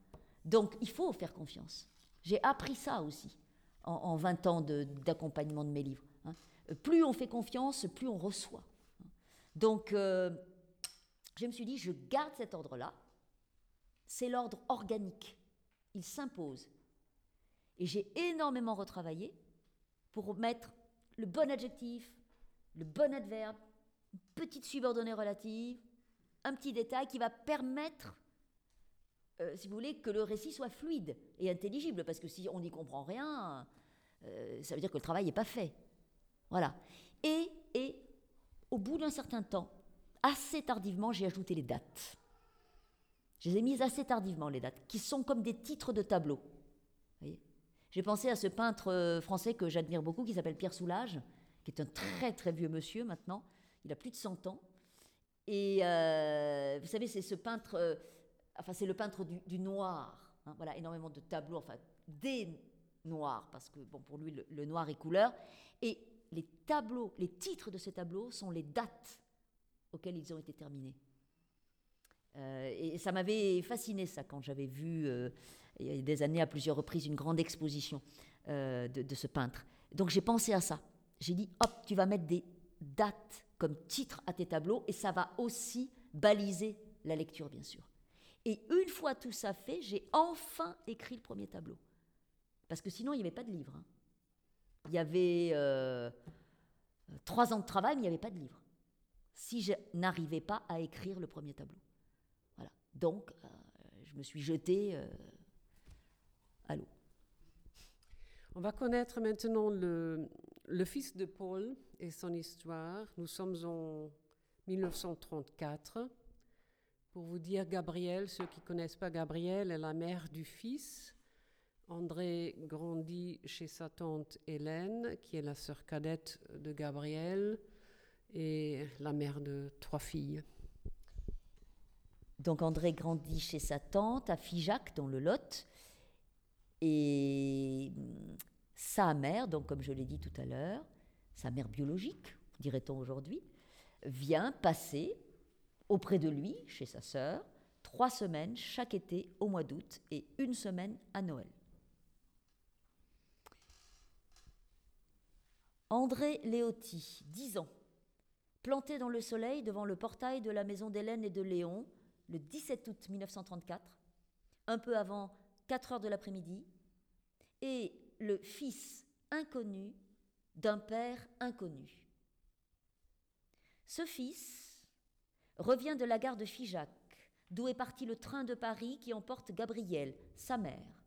Donc, il faut faire confiance. J'ai appris ça aussi en 20 ans d'accompagnement de mes livres. Hein. Plus on fait confiance, plus on reçoit. Donc, je me suis dit, je garde cet ordre-là. C'est l'ordre organique. Il s'impose. Et j'ai énormément retravaillé pour mettre le bon adjectif, le bon adverbe, une petite subordonnée relative, un petit détail qui va permettre, si vous voulez, que le récit soit fluide et intelligible, parce que si on n'y comprend rien, ça veut dire que le travail n'est pas fait. Voilà. Et au bout d'un certain temps, assez tardivement, j'ai ajouté les dates. Je les ai mises assez tardivement, les dates, qui sont comme des titres de tableaux. Vous voyez ? J'ai pensé à ce peintre français que j'admire beaucoup, qui s'appelle Pierre Soulages, qui est un très très vieux monsieur maintenant. Il a plus de 100 ans. Et vous savez, c'est ce peintre, c'est le peintre du noir. Hein, voilà, énormément de tableaux, enfin des noirs, parce que bon, pour lui, le noir est couleur. Et les tableaux, les titres de ces tableaux sont les dates auxquelles ils ont été terminés. Et ça m'avait fasciné, ça, quand j'avais vu, il y a des années, à plusieurs reprises, une grande exposition de ce peintre. Donc j'ai pensé à ça. J'ai dit, hop, tu vas mettre des dates comme titre à tes tableaux, et ça va aussi baliser la lecture, bien sûr. Et une fois tout ça fait, j'ai enfin écrit le premier tableau. Parce que sinon, il n'y avait pas de livre. Hein. Il y avait 3 ans de travail, mais il n'y avait pas de livre. Si je n'arrivais pas à écrire le premier tableau. Voilà. Donc, je me suis jetée à l'eau. On va connaître maintenant le fils de Paul et son histoire. Nous sommes en 1934. Pour vous dire, Gabrielle, ceux qui ne connaissent pas Gabrielle, est la mère du fils. André grandit chez sa tante Hélène, qui est la sœur cadette de Gabrielle, et la mère de 3 filles. Donc André grandit chez sa tante à Figeac, dans le Lot, et sa mère, donc comme je l'ai dit tout à l'heure, sa mère biologique, dirait-on aujourd'hui, vient passer auprès de lui, chez sa sœur, 3 semaines chaque été au mois d'août et 1 semaine à Noël. André Léoty, 10 ans, planté dans le soleil devant le portail de la maison d'Hélène et de Léon, le 17 août 1934, un peu avant 4 heures de l'après-midi, et le fils inconnu d'un père inconnu. Ce fils revient de la gare de Figeac, d'où est parti le train de Paris qui emporte Gabrielle, sa mère.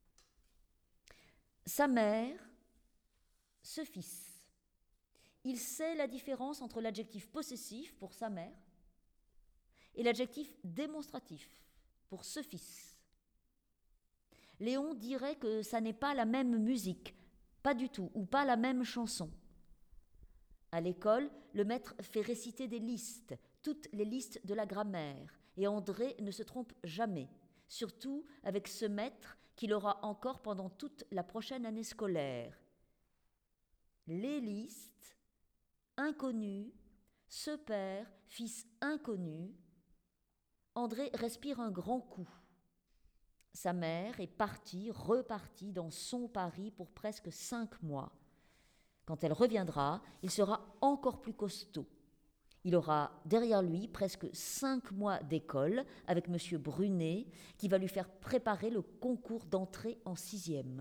Sa mère, ce fils. Il sait la différence entre l'adjectif possessif pour sa mère et l'adjectif démonstratif pour ce fils. Léon dirait que ça n'est pas la même musique, pas du tout, ou pas la même chanson. À l'école, le maître fait réciter des listes, toutes les listes de la grammaire, et André ne se trompe jamais, surtout avec ce maître qu'il aura encore pendant toute la prochaine année scolaire. Les listes, inconnu, ce père, fils inconnu. André respire un grand coup. Sa mère est repartie dans son Paris pour presque 5 mois. Quand elle reviendra, il sera encore plus costaud. Il aura derrière lui presque 5 mois d'école avec M. Brunet, qui va lui faire préparer le concours d'entrée en 6e.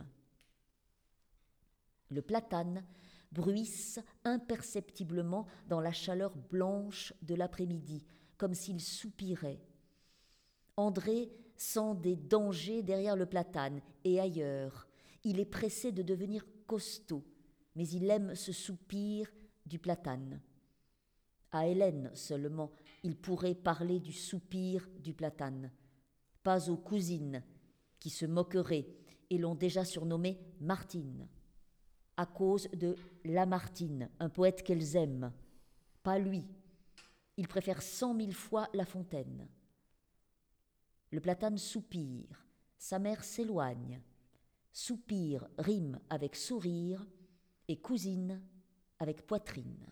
Le platane bruisse imperceptiblement dans la chaleur blanche de l'après-midi, comme s'il soupirait. André sent des dangers derrière le platane et ailleurs. Il est pressé de devenir costaud, mais il aime ce soupir du platane. À Hélène seulement, il pourrait parler du soupir du platane, pas aux cousines qui se moqueraient et l'ont déjà surnommée Martine, à cause de Lamartine, un poète qu'elles aiment. Pas lui. Il préfère 100 000 fois La Fontaine. Le platane soupire, sa mère s'éloigne. Soupir rime avec sourire et cousine avec poitrine.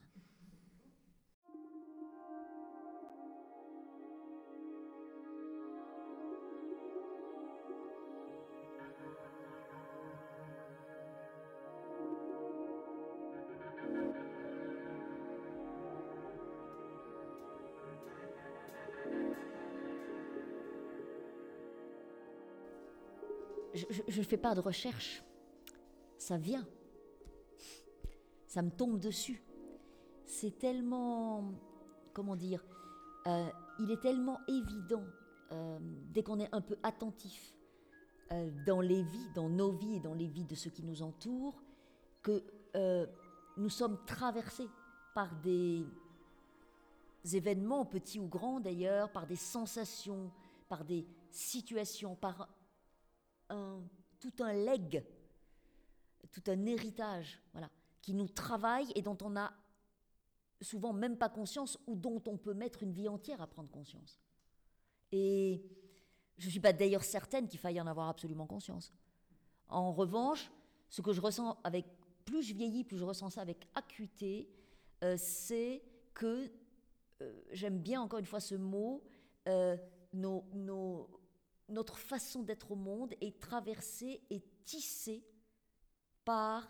je ne fais pas de recherche. Ça vient. Ça me tombe dessus. C'est tellement... Comment dire, il est tellement évident, dès qu'on est un peu attentif dans les vies, dans nos vies et dans les vies de ceux qui nous entourent, que nous sommes traversés par des événements, petits ou grands d'ailleurs, par des sensations, par des situations, par tout un legs, tout un héritage, voilà, qui nous travaille et dont on n'a souvent même pas conscience ou dont on peut mettre une vie entière à prendre conscience. Et je ne suis pas d'ailleurs certaine qu'il faille en avoir absolument conscience. En revanche, ce que je ressens avec... Plus je vieillis, plus je ressens ça avec acuité, c'est que, j'aime bien encore une fois ce mot, notre façon d'être au monde est traversée et tissée par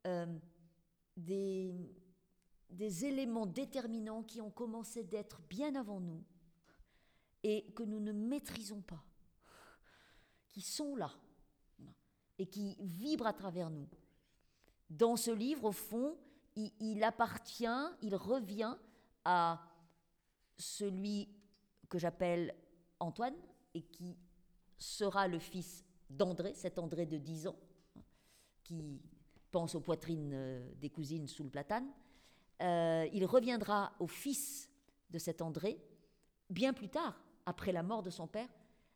des éléments déterminants qui ont commencé d'être bien avant nous et que nous ne maîtrisons pas, qui sont là et qui vibrent à travers nous. Dans ce livre, au fond, il revient à celui que j'appelle Antoine et qui sera le fils d'André, cet André de 10 ans, qui pense aux poitrines des cousines sous le platane. Il reviendra au fils de cet André, bien plus tard, après la mort de son père,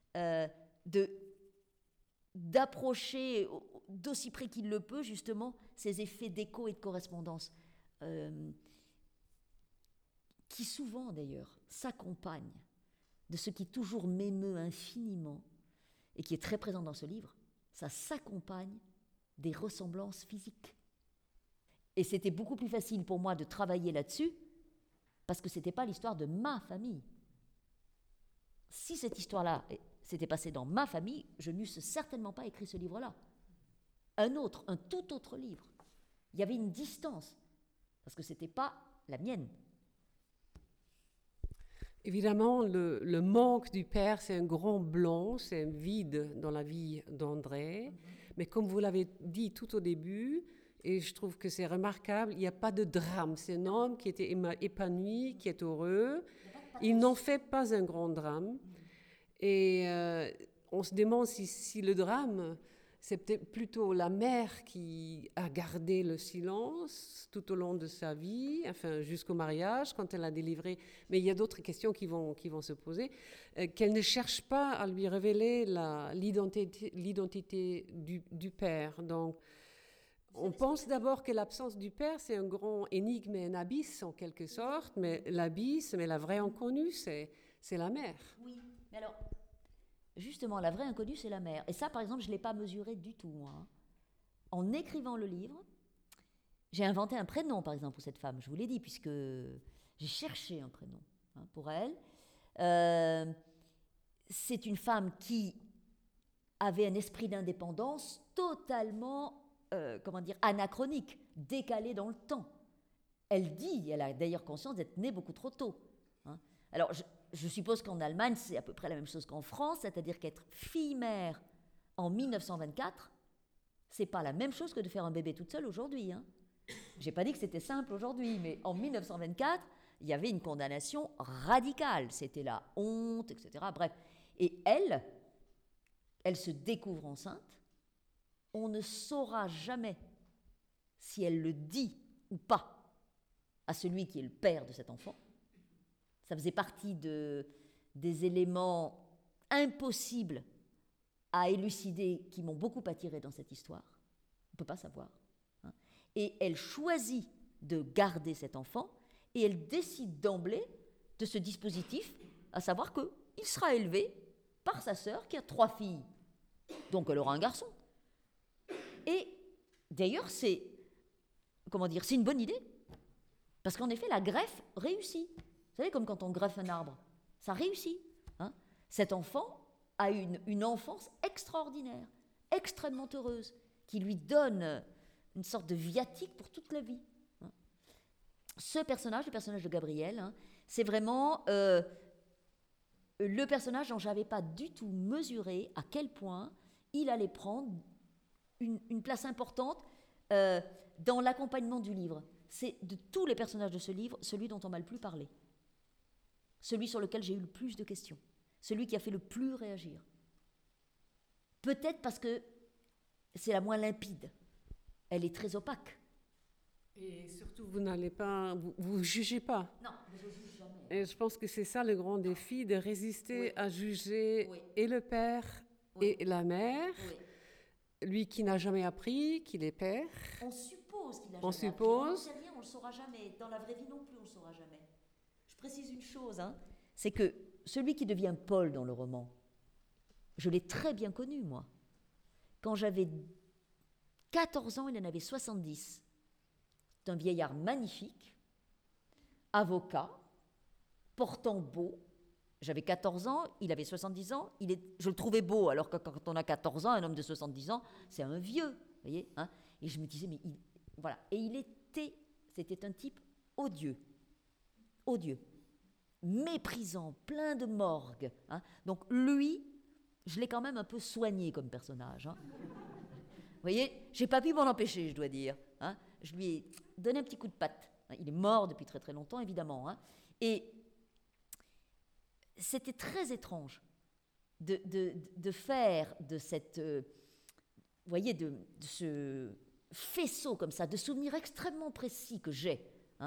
d'approcher d'aussi près qu'il le peut, justement, ces effets d'écho et de correspondance, qui souvent, d'ailleurs, s'accompagnent de ce qui toujours m'émeut infiniment, et qui est très présent dans ce livre, ça s'accompagne des ressemblances physiques. Et c'était beaucoup plus facile pour moi de travailler là-dessus, parce que ce n'était pas l'histoire de ma famille. Si cette histoire-là s'était passée dans ma famille, je n'eusse certainement pas écrit ce livre-là. Un tout autre livre. Il y avait une distance, parce que ce n'était pas la mienne. Évidemment, le manque du père, c'est un grand blanc, c'est un vide dans la vie d'André. Mais comme vous l'avez dit tout au début, et je trouve que c'est remarquable, il n'y a pas de drame. C'est un homme qui était épanoui, qui est heureux. Il n'en fait pas un grand drame. Et on se demande si le drame, c'est peut-être plutôt la mère qui a gardé le silence tout au long de sa vie, enfin jusqu'au mariage, quand elle a délivré. Mais il y a d'autres questions qui vont se poser. Qu'elle ne cherche pas à lui révéler l'identité du père. Donc, on pense d'abord que l'absence du père, c'est un grand énigme et un abysse en quelque sorte, mais l'abysse, mais la vraie inconnue, c'est la mère. Oui, mais alors, justement, la vraie inconnue, c'est la mère. Et ça, par exemple, je ne l'ai pas mesuré du tout, moi. En écrivant le livre, j'ai inventé un prénom, par exemple, pour cette femme, je vous l'ai dit, puisque j'ai cherché un prénom pour elle. C'est une femme qui avait un esprit d'indépendance totalement, anachronique, décalé dans le temps. Elle a d'ailleurs conscience d'être née beaucoup trop tôt. Alors, je suppose qu'en Allemagne, c'est à peu près la même chose qu'en France, c'est-à-dire qu'être fille-mère en 1924, c'est pas la même chose que de faire un bébé toute seule aujourd'hui. J'ai pas dit que c'était simple aujourd'hui, mais en 1924, il y avait une condamnation radicale. C'était la honte, etc. Bref. Et elle se découvre enceinte. On ne saura jamais si elle le dit ou pas à celui qui est le père de cet enfant. Ça faisait partie des éléments impossibles à élucider qui m'ont beaucoup attirée dans cette histoire. On ne peut pas savoir. Et elle choisit de garder cet enfant et elle décide d'emblée de ce dispositif, à savoir qu'il sera élevé par sa sœur qui a 3 filles. Donc elle aura un garçon. Et d'ailleurs, c'est une bonne idée. Parce qu'en effet, la greffe réussit. Vous savez, comme quand on greffe un arbre, ça réussit. Cet enfant a une enfance extraordinaire, extrêmement heureuse, qui lui donne une sorte de viatique pour toute la vie. Ce personnage, le personnage de Gabriel, c'est vraiment le personnage dont je n'avais pas du tout mesuré à quel point il allait prendre une place importante dans l'accompagnement du livre. C'est de tous les personnages de ce livre, celui dont on m'a le plus parlé. Celui sur lequel j'ai eu le plus de questions. Celui qui a fait le plus réagir. Peut-être parce que c'est la moins limpide. Elle est très opaque. Et surtout, vous n'allez pas, vous jugez pas. Non, mais je juge jamais. Et je pense que c'est ça le grand défi, de résister Oui. à juger Oui. et le père Oui. et la mère, Oui. lui qui n'a jamais appris qu'il est père. On suppose qu'il a On jamais appris. suppose. On n'en sait rien, on ne le saura jamais. Dans la vraie vie non plus, on ne le saura jamais. Je précise une chose, c'est que celui qui devient Paul dans le roman, je l'ai très bien connu, moi. Quand j'avais 14 ans, il en avait 70. C'est un vieillard magnifique, avocat, portant beau. J'avais 14 ans, il avait 70 ans. Je le trouvais beau, alors que quand on a 14 ans, un homme de 70 ans, c'est un vieux. Vous voyez, et je me disais, mais voilà. Et c'était un type odieux. Odieux. Méprisant, plein de morgue. Donc lui, je l'ai quand même un peu soigné comme personnage. Vous voyez, j'ai pas pu m'en empêcher, je dois dire. Je lui ai donné un petit coup de patte. Il est mort depuis très très longtemps, évidemment. Et c'était très étrange de faire de cette, vous voyez, de ce faisceau comme ça, de souvenirs extrêmement précis que j'ai.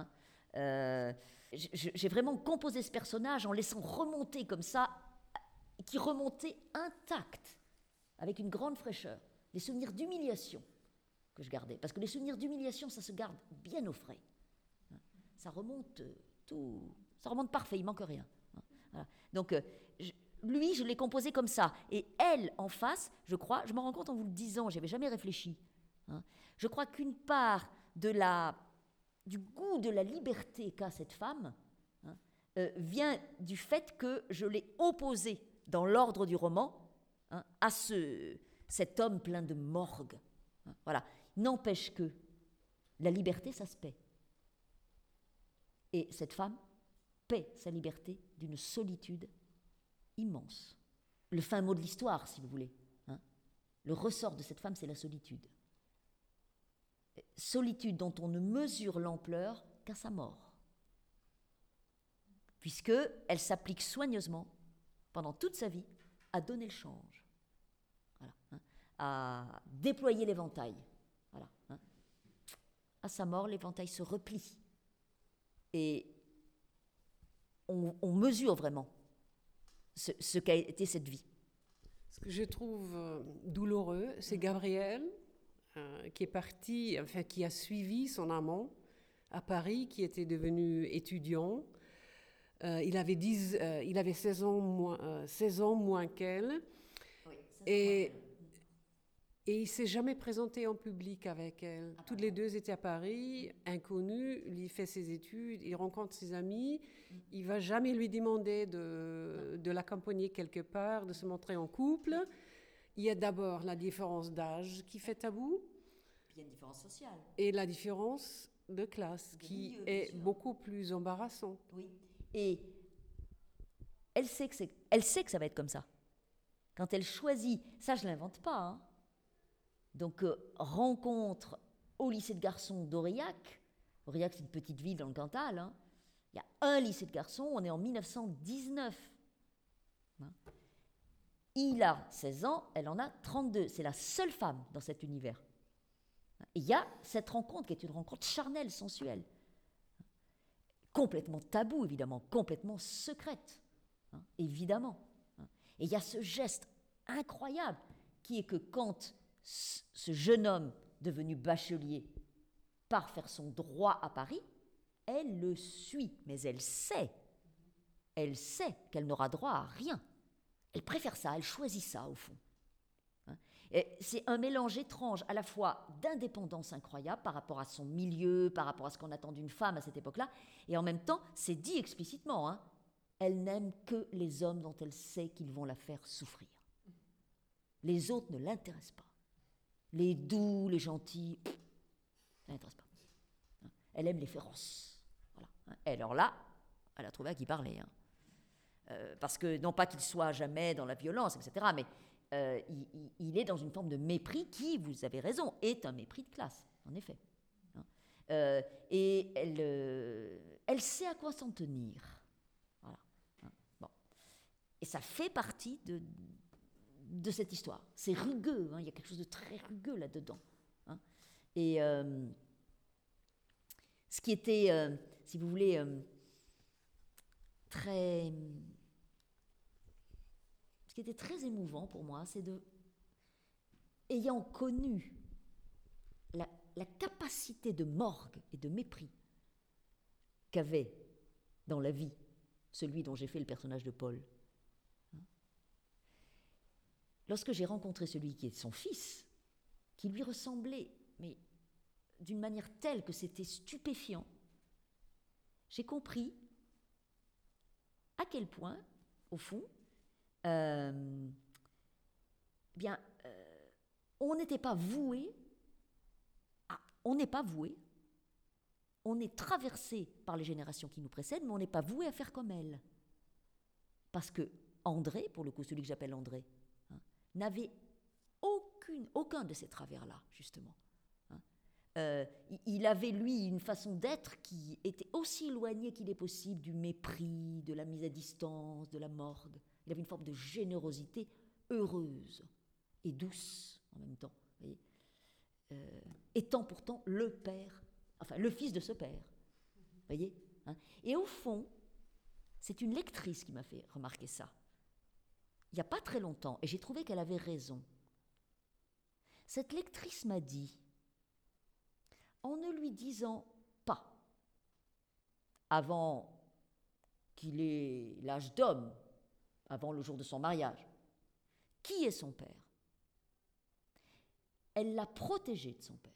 J'ai vraiment composé ce personnage en laissant remonter comme ça, qui remontait intact, avec une grande fraîcheur, les souvenirs d'humiliation que je gardais. Parce que les souvenirs d'humiliation, ça se garde bien au frais. Ça remonte ça remonte parfait, il manque rien. Voilà. Donc, lui, je l'ai composé comme ça. Et elle, en face, je crois, je me rends compte en vous le disant, je n'avais jamais réfléchi. Je crois qu'une part du goût de la liberté qu'a cette femme vient du fait que je l'ai opposée dans l'ordre du roman à cet homme plein de morgue. Voilà. N'empêche que la liberté, ça se paie. Et cette femme paie sa liberté d'une solitude immense. Le fin mot de l'histoire, si vous voulez. Le ressort de cette femme, c'est la solitude. Solitude dont on ne mesure l'ampleur qu'à sa mort. Puisqu'elle s'applique soigneusement, pendant toute sa vie, à donner le change. Voilà, à déployer l'éventail. Voilà, à sa mort, l'éventail se replie. Et on mesure vraiment ce qu'a été cette vie. Ce que je trouve douloureux, c'est Gabriel, qui est parti, enfin qui a suivi son amant à Paris, qui était devenu étudiant. Il avait 16 ans moins qu'elle. Oui, et il ne s'est jamais présenté en public avec elle. Toutes les deux étaient à Paris, inconnues. Il fait ses études, il rencontre ses amis. Il ne va jamais lui demander de l'accompagner quelque part, de se montrer en couple. Il y a d'abord la différence d'âge qui fait tabou. Puis il y a une différence sociale. Et la différence de classe qui est beaucoup plus embarrassante. Oui. Et elle sait que ça va être comme ça. Quand elle choisit, ça je ne l'invente pas. Donc rencontre au lycée de garçons d'Aurillac. Aurillac, c'est une petite ville dans le Cantal. Il y a un lycée de garçons, on est en 1919. Il a 16 ans, elle en a 32. C'est la seule femme dans cet univers. Et il y a cette rencontre qui est une rencontre charnelle, sensuelle. Complètement taboue, évidemment, complètement secrète, évidemment. Et il y a ce geste incroyable qui est que quand ce jeune homme devenu bachelier part faire son droit à Paris, elle le suit, mais elle sait qu'elle n'aura droit à rien. Elle préfère ça, elle choisit ça au fond. Et c'est un mélange étrange à la fois d'indépendance incroyable par rapport à son milieu, par rapport à ce qu'on attend d'une femme à cette époque-là, et en même temps, c'est dit explicitement, elle n'aime que les hommes dont elle sait qu'ils vont la faire souffrir. Les autres ne l'intéressent pas. Les doux, les gentils, ça ne l'intéresse pas. Elle aime les féroces. Voilà. Et alors là, elle a trouvé à qui parler. Parce que, non pas qu'il soit jamais dans la violence, etc., mais il est dans une forme de mépris qui, vous avez raison, est un mépris de classe, en effet. Et elle sait à quoi s'en tenir. Voilà. Bon. Et ça fait partie de cette histoire. C'est rugueux, il y a quelque chose de très rugueux là-dedans. Et ce qui était, si vous voulez, ce qui était très émouvant pour moi, c'est ayant connu la capacité de morgue et de mépris qu'avait dans la vie celui dont j'ai fait le personnage de Paul. Lorsque j'ai rencontré celui qui est son fils, qui lui ressemblait, mais d'une manière telle que c'était stupéfiant, j'ai compris à quel point, au fond, on n'était pas voué, on n'est pas voué, on est traversé par les générations qui nous précèdent, mais on n'est pas voué à faire comme elles. Parce que André, pour le coup, celui que j'appelle André, n'avait aucun de ces travers-là, justement. Il avait, lui, une façon d'être qui était aussi éloignée qu'il est possible du mépris, de la mise à distance, de la morgue. Il avait une forme de générosité heureuse et douce en même temps, voyez, étant pourtant le père, enfin le fils de ce père, voyez. Et au fond, c'est une lectrice qui m'a fait remarquer ça, il n'y a pas très longtemps, et j'ai trouvé qu'elle avait raison. Cette lectrice m'a dit, en ne lui disant pas, avant qu'il ait l'âge d'homme, avant le jour de son mariage, qui est son père, elle l'a protégé de son père.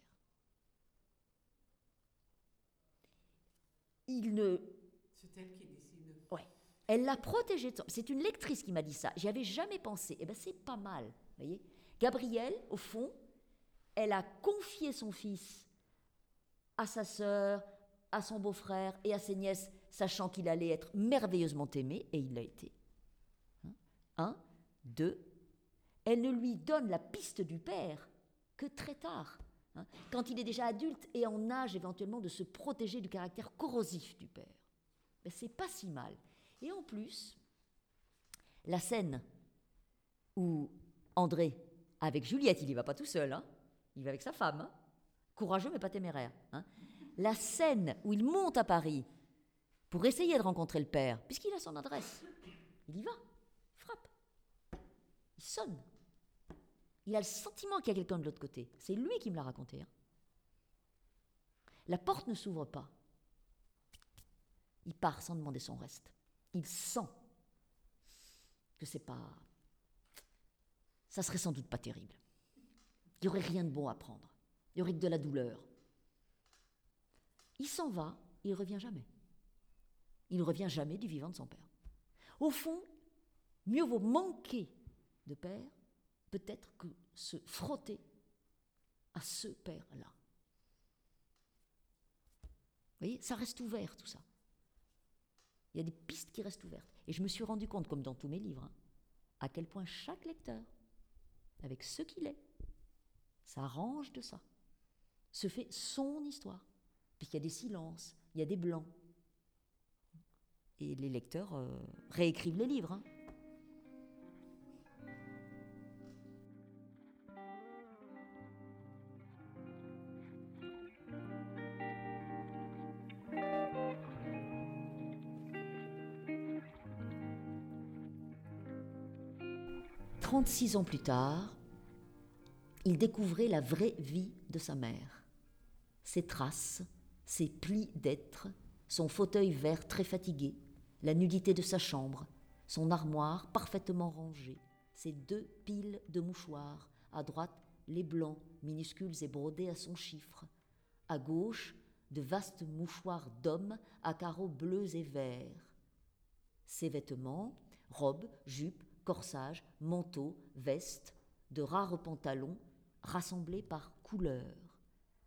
C'est elle qui décide. Ouais. Elle l'a protégé de son... C'est une lectrice qui m'a dit ça. J'y avais jamais pensé. Eh bien, c'est pas mal, voyez. Gabrielle, au fond, elle a confié son fils à sa sœur, à son beau-frère et à ses nièces, sachant qu'il allait être merveilleusement aimé, et il l'a été. 1, 2, elle ne lui donne la piste du père que très tard, quand il est déjà adulte et en âge éventuellement de se protéger du caractère corrosif du père. Mais c'est pas si mal. Et en plus, la scène où André, avec Juliette, il n'y va pas tout seul, il va avec sa femme, courageux mais pas téméraire. La scène où il monte à Paris pour essayer de rencontrer le père, puisqu'il a son adresse, il y va, il frappe, il sonne. Il a le sentiment qu'il y a quelqu'un de l'autre côté. C'est lui qui me l'a raconté. La porte ne s'ouvre pas. Il part sans demander son reste. Il sent que c'est pas... Ça serait sans doute pas terrible. Il n'y aurait rien de bon à prendre. Il y aurait que de la douleur. Il s'en va, il ne revient jamais. Il ne revient jamais du vivant de son père. Au fond, mieux vaut manquer de père peut-être que se frotter à ce père-là. Vous voyez, ça reste ouvert tout ça. Il y a des pistes qui restent ouvertes. Et je me suis rendu compte, comme dans tous mes livres, à quel point chaque lecteur, avec ce qu'il est, s'arrange de ça, se fait son histoire. Puis il y a des silences, il y a des blancs. Et les lecteurs réécrivent les livres. 36 ans plus tard, il découvrait la vraie vie de sa mère. Ses traces, ses plis d'être, son fauteuil vert très fatigué, la nudité de sa chambre, son armoire parfaitement rangée, ses 2 piles de mouchoirs, à droite les blancs, minuscules et brodés à son chiffre, à gauche de vastes mouchoirs d'hommes à carreaux bleus et verts. Ses vêtements, robes, jupes, corsages, manteaux, vestes, de rares pantalons rassemblés par couleurs.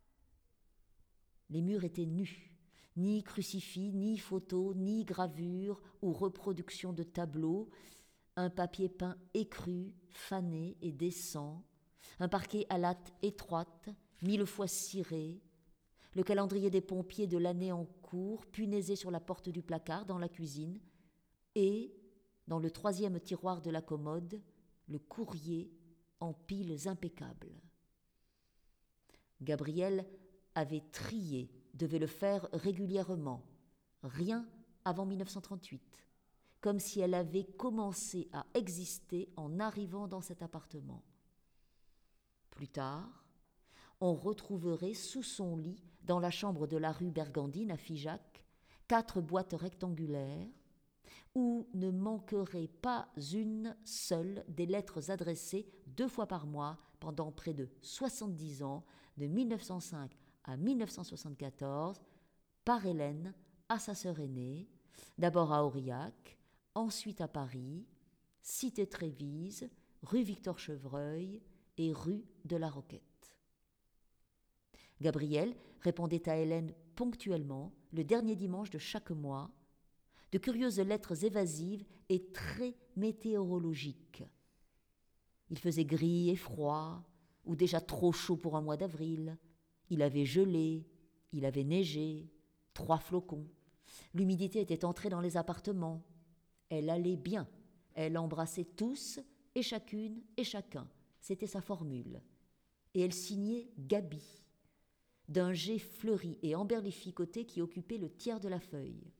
Les murs étaient nus, ni crucifix, ni photos, ni gravures ou reproductions de tableaux, un papier peint écru, fané et décent, un parquet à lattes étroites, 1000 fois ciré, le calendrier des pompiers de l'année en cours, punaisé sur la porte du placard dans la cuisine, et, dans le 3e tiroir de la commode, le courrier en piles impeccables. Gabrielle avait trié, devait le faire régulièrement, rien avant 1938, comme si elle avait commencé à exister en arrivant dans cet appartement. Plus tard, on retrouverait sous son lit, dans la chambre de la rue Bergandine à Figeac, 4 boîtes rectangulaires, où ne manquerait pas une seule des lettres adressées 2 fois par mois pendant près de 70 ans, de 1905 à 1974, par Hélène à sa sœur aînée, d'abord à Aurillac, ensuite à Paris, cité Trévise, rue Victor Chevreuil et rue de la Roquette. Gabrielle répondait à Hélène ponctuellement, le dernier dimanche de chaque mois, de curieuses lettres évasives et très météorologiques. Il faisait gris et froid, ou déjà trop chaud pour un mois d'avril. Il avait gelé, il avait neigé, 3 flocons. L'humidité était entrée dans les appartements. Elle allait bien. Elle embrassait tous et chacune et chacun. C'était sa formule. Et elle signait Gabi, d'un G fleuri et emberlificoté qui occupait le tiers de la feuille.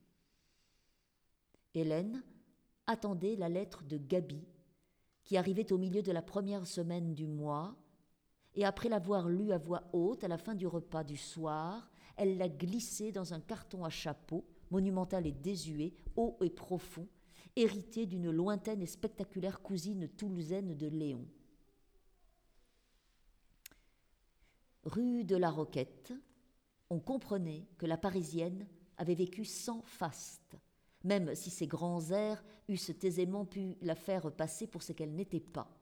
Hélène attendait la lettre de Gabi, qui arrivait au milieu de la première semaine du mois, et après l'avoir lue à voix haute à la fin du repas du soir, elle l'a glissée dans un carton à chapeau, monumental et désuet, haut et profond, hérité d'une lointaine et spectaculaire cousine toulousaine de Léon. Rue de la Roquette, on comprenait que la Parisienne avait vécu sans faste, même si ses grands airs eussent aisément pu la faire passer pour ce qu'elle n'était pas.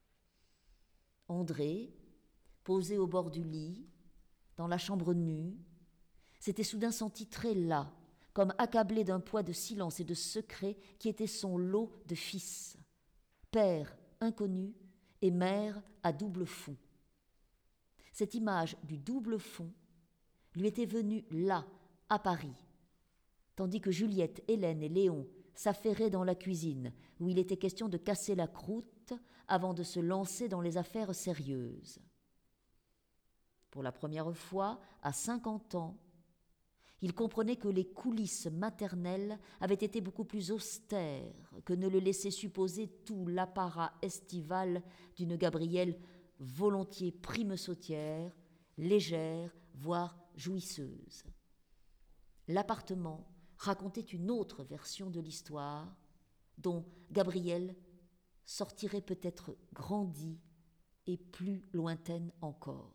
André, posé au bord du lit, dans la chambre nue, s'était soudain senti très las, comme accablé d'un poids de silence et de secret qui était son lot de fils, père inconnu et mère à double fond. Cette image du double fond lui était venue là, à Paris, tandis que Juliette, Hélène et Léon s'affairaient dans la cuisine, où il était question de casser la croûte avant de se lancer dans les affaires sérieuses. Pour la première fois, à 50 ans, il comprenait que les coulisses maternelles avaient été beaucoup plus austères que ne le laissait supposer tout l'apparat estival d'une Gabrielle volontiers prime-sautière, légère, voire jouisseuse. L'appartement racontait une autre version de l'histoire, dont Gabrielle sortirait peut-être grandie et plus lointaine encore.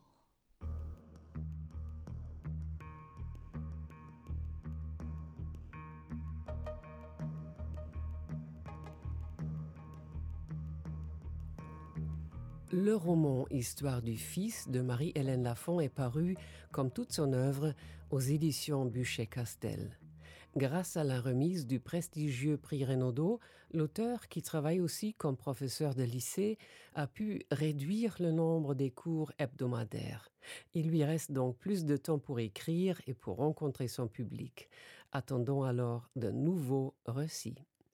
Le roman Histoire du fils de Marie-Hélène Lafont est paru, comme toute son œuvre, aux éditions Buchet-Castel. Grâce à la remise du prestigieux prix Renaudot, l'auteur, qui travaille aussi comme professeur de lycée, a pu réduire le nombre des cours hebdomadaires. Il lui reste donc plus de temps pour écrire et pour rencontrer son public. Attendons alors de nouveaux récits.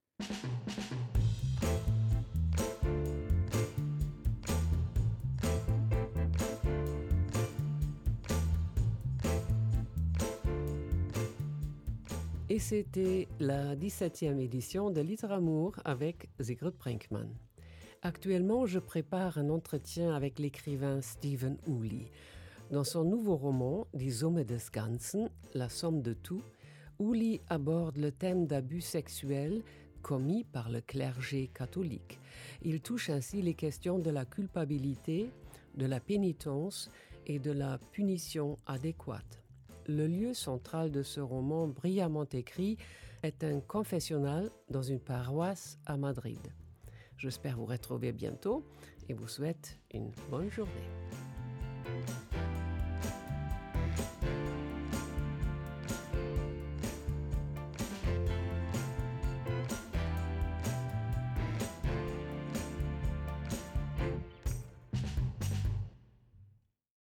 Et c'était la 17e édition de Literamour avec Sigrid Brinkmann. Actuellement, je prépare un entretien avec l'écrivain Stephen Hooley. Dans son nouveau roman, Die Summe des Ganzen, la somme de tout, Hooley aborde le thème d'abus sexuels commis par le clergé catholique. Il touche ainsi les questions de la culpabilité, de la pénitence et de la punition adéquate. Le lieu central de ce roman brillamment écrit est un confessionnal dans une paroisse à Madrid. J'espère vous retrouver bientôt et vous souhaite une bonne journée.